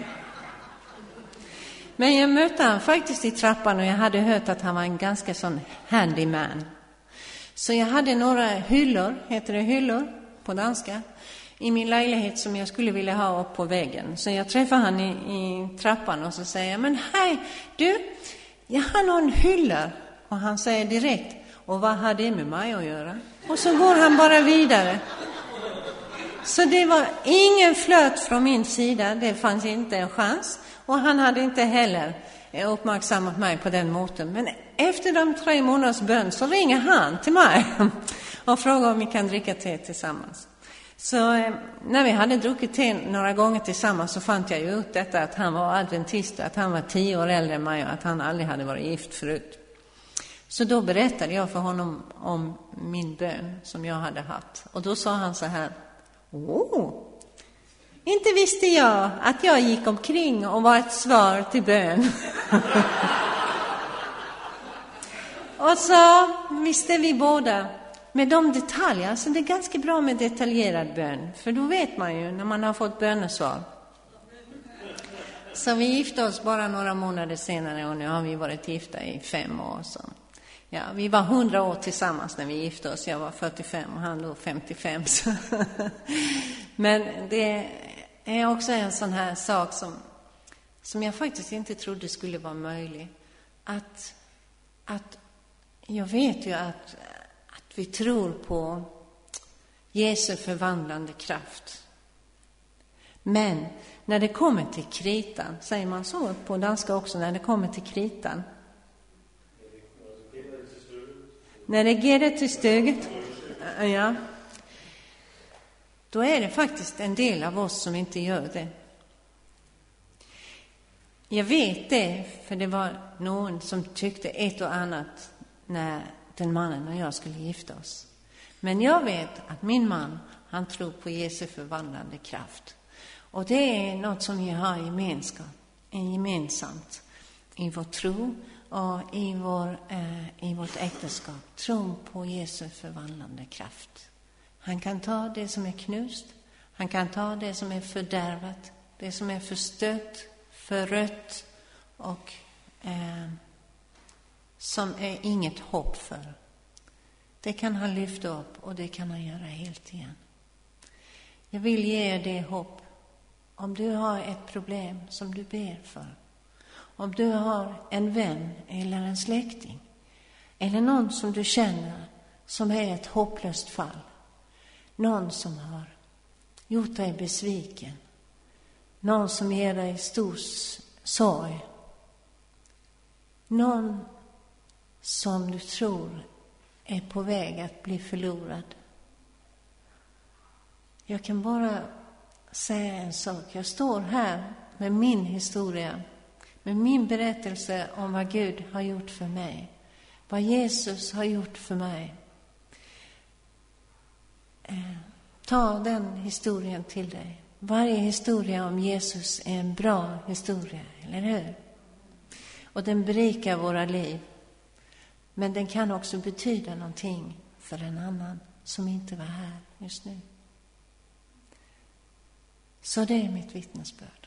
Men jag mötte han faktiskt i trappan och jag hade hört att han var en ganska sån handyman. Så jag hade några hyllor, heter det hyllor på danska, i min lägenhet som jag skulle vilja ha upp på väggen. Så jag träffade han i trappan och så säger jag, men hej du, jag har någon hyllor. Och han säger direkt, Och vad har det med mig att göra? Och så går han bara vidare. Så det var ingen flöt från min sida. Det fanns inte en chans. Och han hade inte heller uppmärksammat mig på den måten. Men efter de 3 månaders bön så ringer han till mig och frågar om vi kan dricka te tillsammans. Så när vi hade druckit te några gånger tillsammans så fann jag ju ut detta att han var adventist, att han var 10 år äldre än mig och att han aldrig hade varit gift förut. Så då berättade jag för honom om min bön som jag hade haft. Och då sa han så här: inte visste jag att jag gick omkring och var ett svar till bön. Och så visste vi båda med de detaljer, så det är ganska bra med detaljerad bön. För då vet man ju när man har fått bönesvar. Så vi gifte oss bara några månader senare och nu har vi varit gifta i 5 år. Så. Ja, vi var 100 år tillsammans när vi gifte oss. Jag var 45 och han då 55. Så. Men det är också en sån här sak som jag faktiskt inte trodde skulle vara möjlig. Att jag vet ju att vi tror på Jesu förvandlande kraft. Men när det kommer till kritan, säger man så på danska också, när det kommer till kritan. När det ger till stöget, ja, då är det faktiskt en del av oss som inte gör det. Jag vet det, för det var någon som tyckte ett och annat när den mannen och jag skulle gifta oss. Men jag vet att min man, han tror på Jesu förvandlande kraft. Och det är något som vi har gemensamt i vår tro och i vårt äktenskap. Tron på Jesu förvandlande kraft. Han kan ta det som är knust. Han kan ta det som är fördärvat. Det som är förstört, förrött och som är inget hopp för. Det kan han lyfta upp och det kan han göra helt igen. Jag vill ge er det hopp. Om du har ett problem som du ber för. Om du har en vän eller en släkting. Eller någon som du känner som är ett hopplöst fall. Någon som har gjort dig besviken. Någon som ger dig stor sorg. Någon som du tror är på väg att bli förlorad. Jag kan bara säga en sak. Jag står här med min historia. Med min berättelse om vad Gud har gjort för mig. Vad Jesus har gjort för mig. Ta den historien till dig. Varje historia om Jesus är en bra historia, eller hur? Och den berikar våra liv. Men den kan också betyda någonting för en annan som inte var här just nu. Så det är mitt vittnesbörd.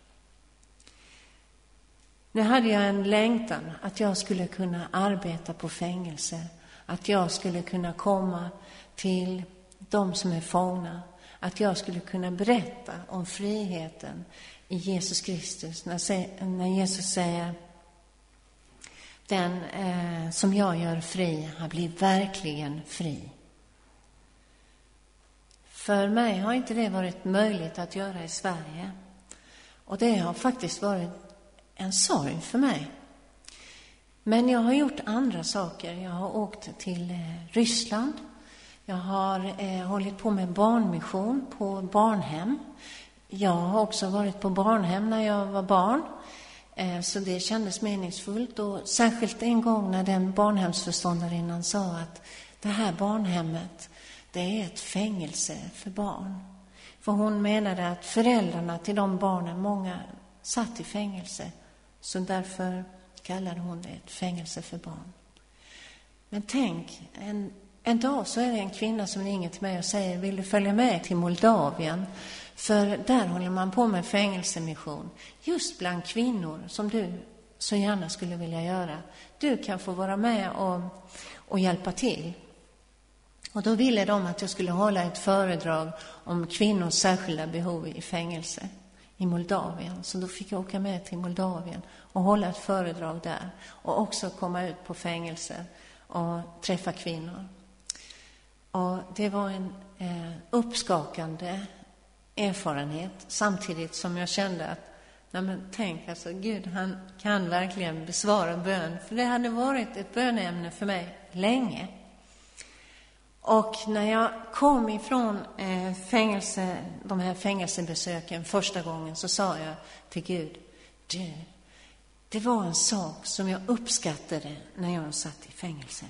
Nu hade jag en längtan att jag skulle kunna arbeta på fängelse. Att jag skulle kunna komma till de som är fångna. Att jag skulle kunna berätta om friheten i Jesus Kristus. När Jesus säger: den som jag gör fri har blivit verkligen fri. För mig har inte det varit möjligt att göra i Sverige. Och det har faktiskt varit en sorg för mig. Men jag har gjort andra saker. Jag har åkt till Ryssland. Jag har hållit på med barnmission på barnhem. Jag har också varit på barnhem när jag var barn. Så det kändes meningsfullt. Och särskilt en gång när den barnhemsförståndarinnan sa att det här barnhemmet, det är ett fängelse för barn. För hon menade att föräldrarna till de barnen, många satt i fängelse. Så därför kallade hon det ett fängelse för barn. Men tänk, en dag så är det en kvinna som ringer till mig och säger: vill du följa med till Moldavien? För där håller man på med fängelsemission. Just bland kvinnor som du så gärna skulle vilja göra. Du kan få vara med och hjälpa till. Och då ville de att jag skulle hålla ett föredrag om kvinnors särskilda behov i fängelse i Moldavien. Så då fick jag åka med till Moldavien och hålla ett föredrag där. Och också komma ut på fängelse och träffa kvinnor. Och det var en uppskakande erfarenhet, samtidigt som jag kände att tänk, alltså Gud, han kan verkligen besvara bön. För det hade varit ett bönämne för mig länge. Och när jag kom ifrån de här fängelsebesöken första gången, så sa jag till Gud, det var en sak som jag uppskattade när jag satt i fängelse.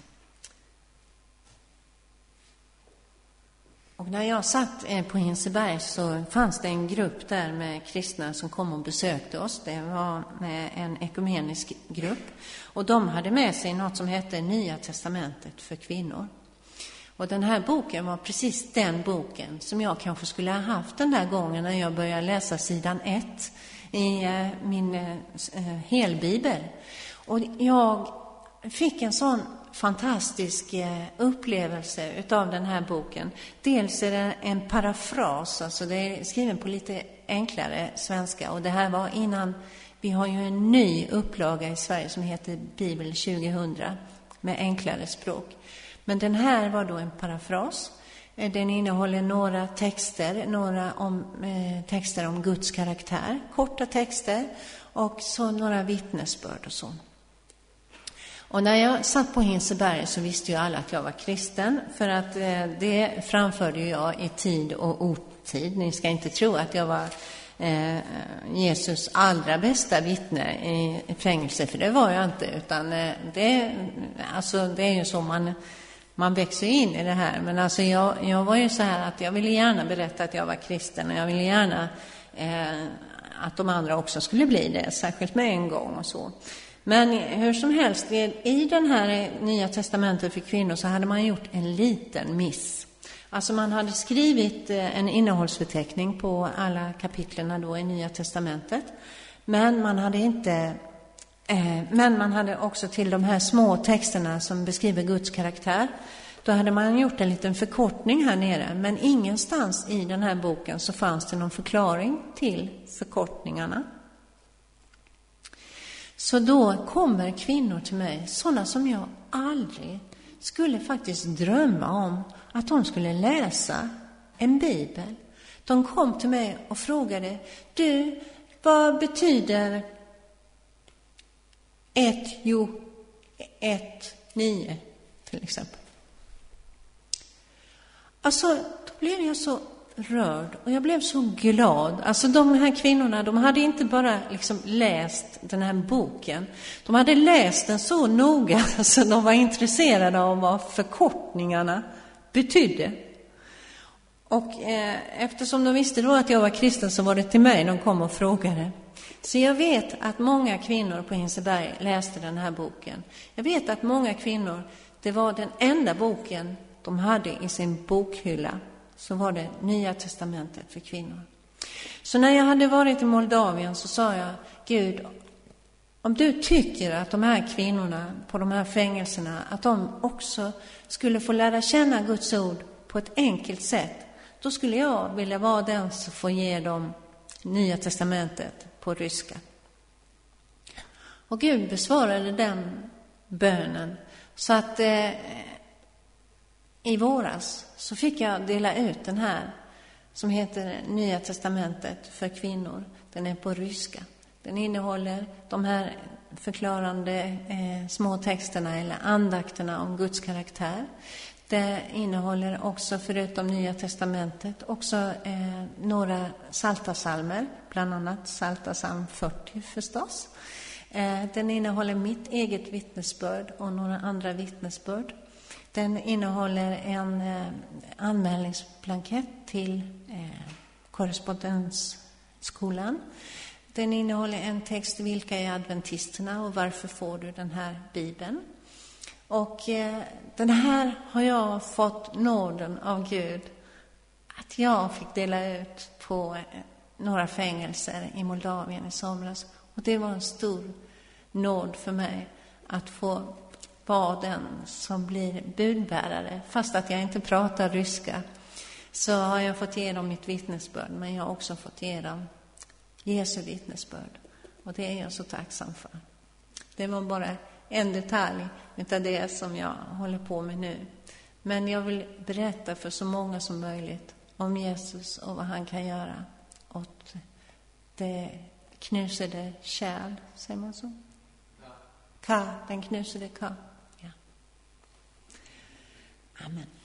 Och när jag satt på Hinseberg så fanns det en grupp där med kristna som kom och besökte oss. Det var en ekumenisk grupp. Och de hade med sig något som hette Nya testamentet för kvinnor. Och den här boken var precis den boken som jag kanske skulle ha haft den där gången när jag började läsa sidan 1 i min helbibel. Och jag fick en sån fantastisk upplevelse utav den här boken. Dels är det en parafras, alltså det är skriven på lite enklare svenska. Och det här var innan, vi har ju en ny upplaga i Sverige som heter Bibel 2000 med enklare språk. Men den här var då en parafras. Den innehåller några texter, texter om Guds karaktär, korta texter, och så några vittnesbörd och så. Och när jag satt på Hinseberg så visste ju alla att jag var kristen, för att det framförde jag i tid och otid. Ni ska inte tro att jag var Jesus allra bästa vittne i fängelse, för det var jag inte, utan det är ju så man växer in i det här. Men alltså jag var ju så här att jag ville gärna berätta att jag var kristen, och jag ville gärna att de andra också skulle bli det, särskilt med en gång och så. Men hur som helst, i den här Nya testamentet för kvinnor så hade man gjort en liten miss. Alltså man hade skrivit en innehållsförteckning på alla kapitlerna då i Nya testamentet. Men man hade också till de här små texterna som beskriver Guds karaktär, då hade man gjort en liten förkortning här nere. Men ingenstans i den här boken så fanns det någon förklaring till förkortningarna. Så då kommer kvinnor till mig, sådana som jag aldrig skulle faktiskt drömma om att de skulle läsa en bibel. De kom till mig och frågade, du, vad betyder 1:9 till exempel? Alltså, då blev jag så rörd och jag blev så glad. Alltså de här kvinnorna, de hade inte bara liksom läst den här boken. De hade läst den så noga så de var intresserade av vad förkortningarna betydde. Och eftersom de visste då att jag var kristen så var det till mig de kom och frågade. Så jag vet att många kvinnor på Hinseberg läste den här boken. Jag vet att många kvinnor, det var den enda boken de hade i sin bokhylla. Så var det Nya testamentet för kvinnor. Så när jag hade varit i Moldavien så sa jag, Gud, om du tycker att de här kvinnorna på de här fängelserna, att de också skulle få lära känna Guds ord på ett enkelt sätt, då skulle jag vilja vara den som får ge dem Nya testamentet på ryska. Och Gud besvarade den bönen. Så att i våras så fick jag dela ut den här som heter Nya testamentet för kvinnor. Den är på ryska. Den innehåller de här förklarande små texterna eller andakterna om Guds karaktär. Det innehåller också, förutom Nya testamentet, också några psaltarpsalmer, bland annat Psaltarpsalm 40 förstås. Den innehåller mitt eget vittnesbörd och några andra vittnesbörd. Den innehåller en anmälningsblankett till korrespondensskolan. Den innehåller en text, vilka är adventisterna och varför får du den här bibeln? Och den här har jag fått nåden av Gud att jag fick dela ut på några fängelser i Moldavien i somras. Och det var en stor nåd för mig att få vara den som blir budbärare. Fast att jag inte pratar ryska så har jag fått ge dem mitt vittnesbörd, men jag har också fått ge dem Jesu vittnesbörd. Och det är jag så tacksam för. Det var bara en detalj utav det som jag håller på med nu. Men jag vill berätta för så många som möjligt om Jesus och vad han kan göra åt det knusade kärl, säger man så? Den knusade ka. Ja. Amen.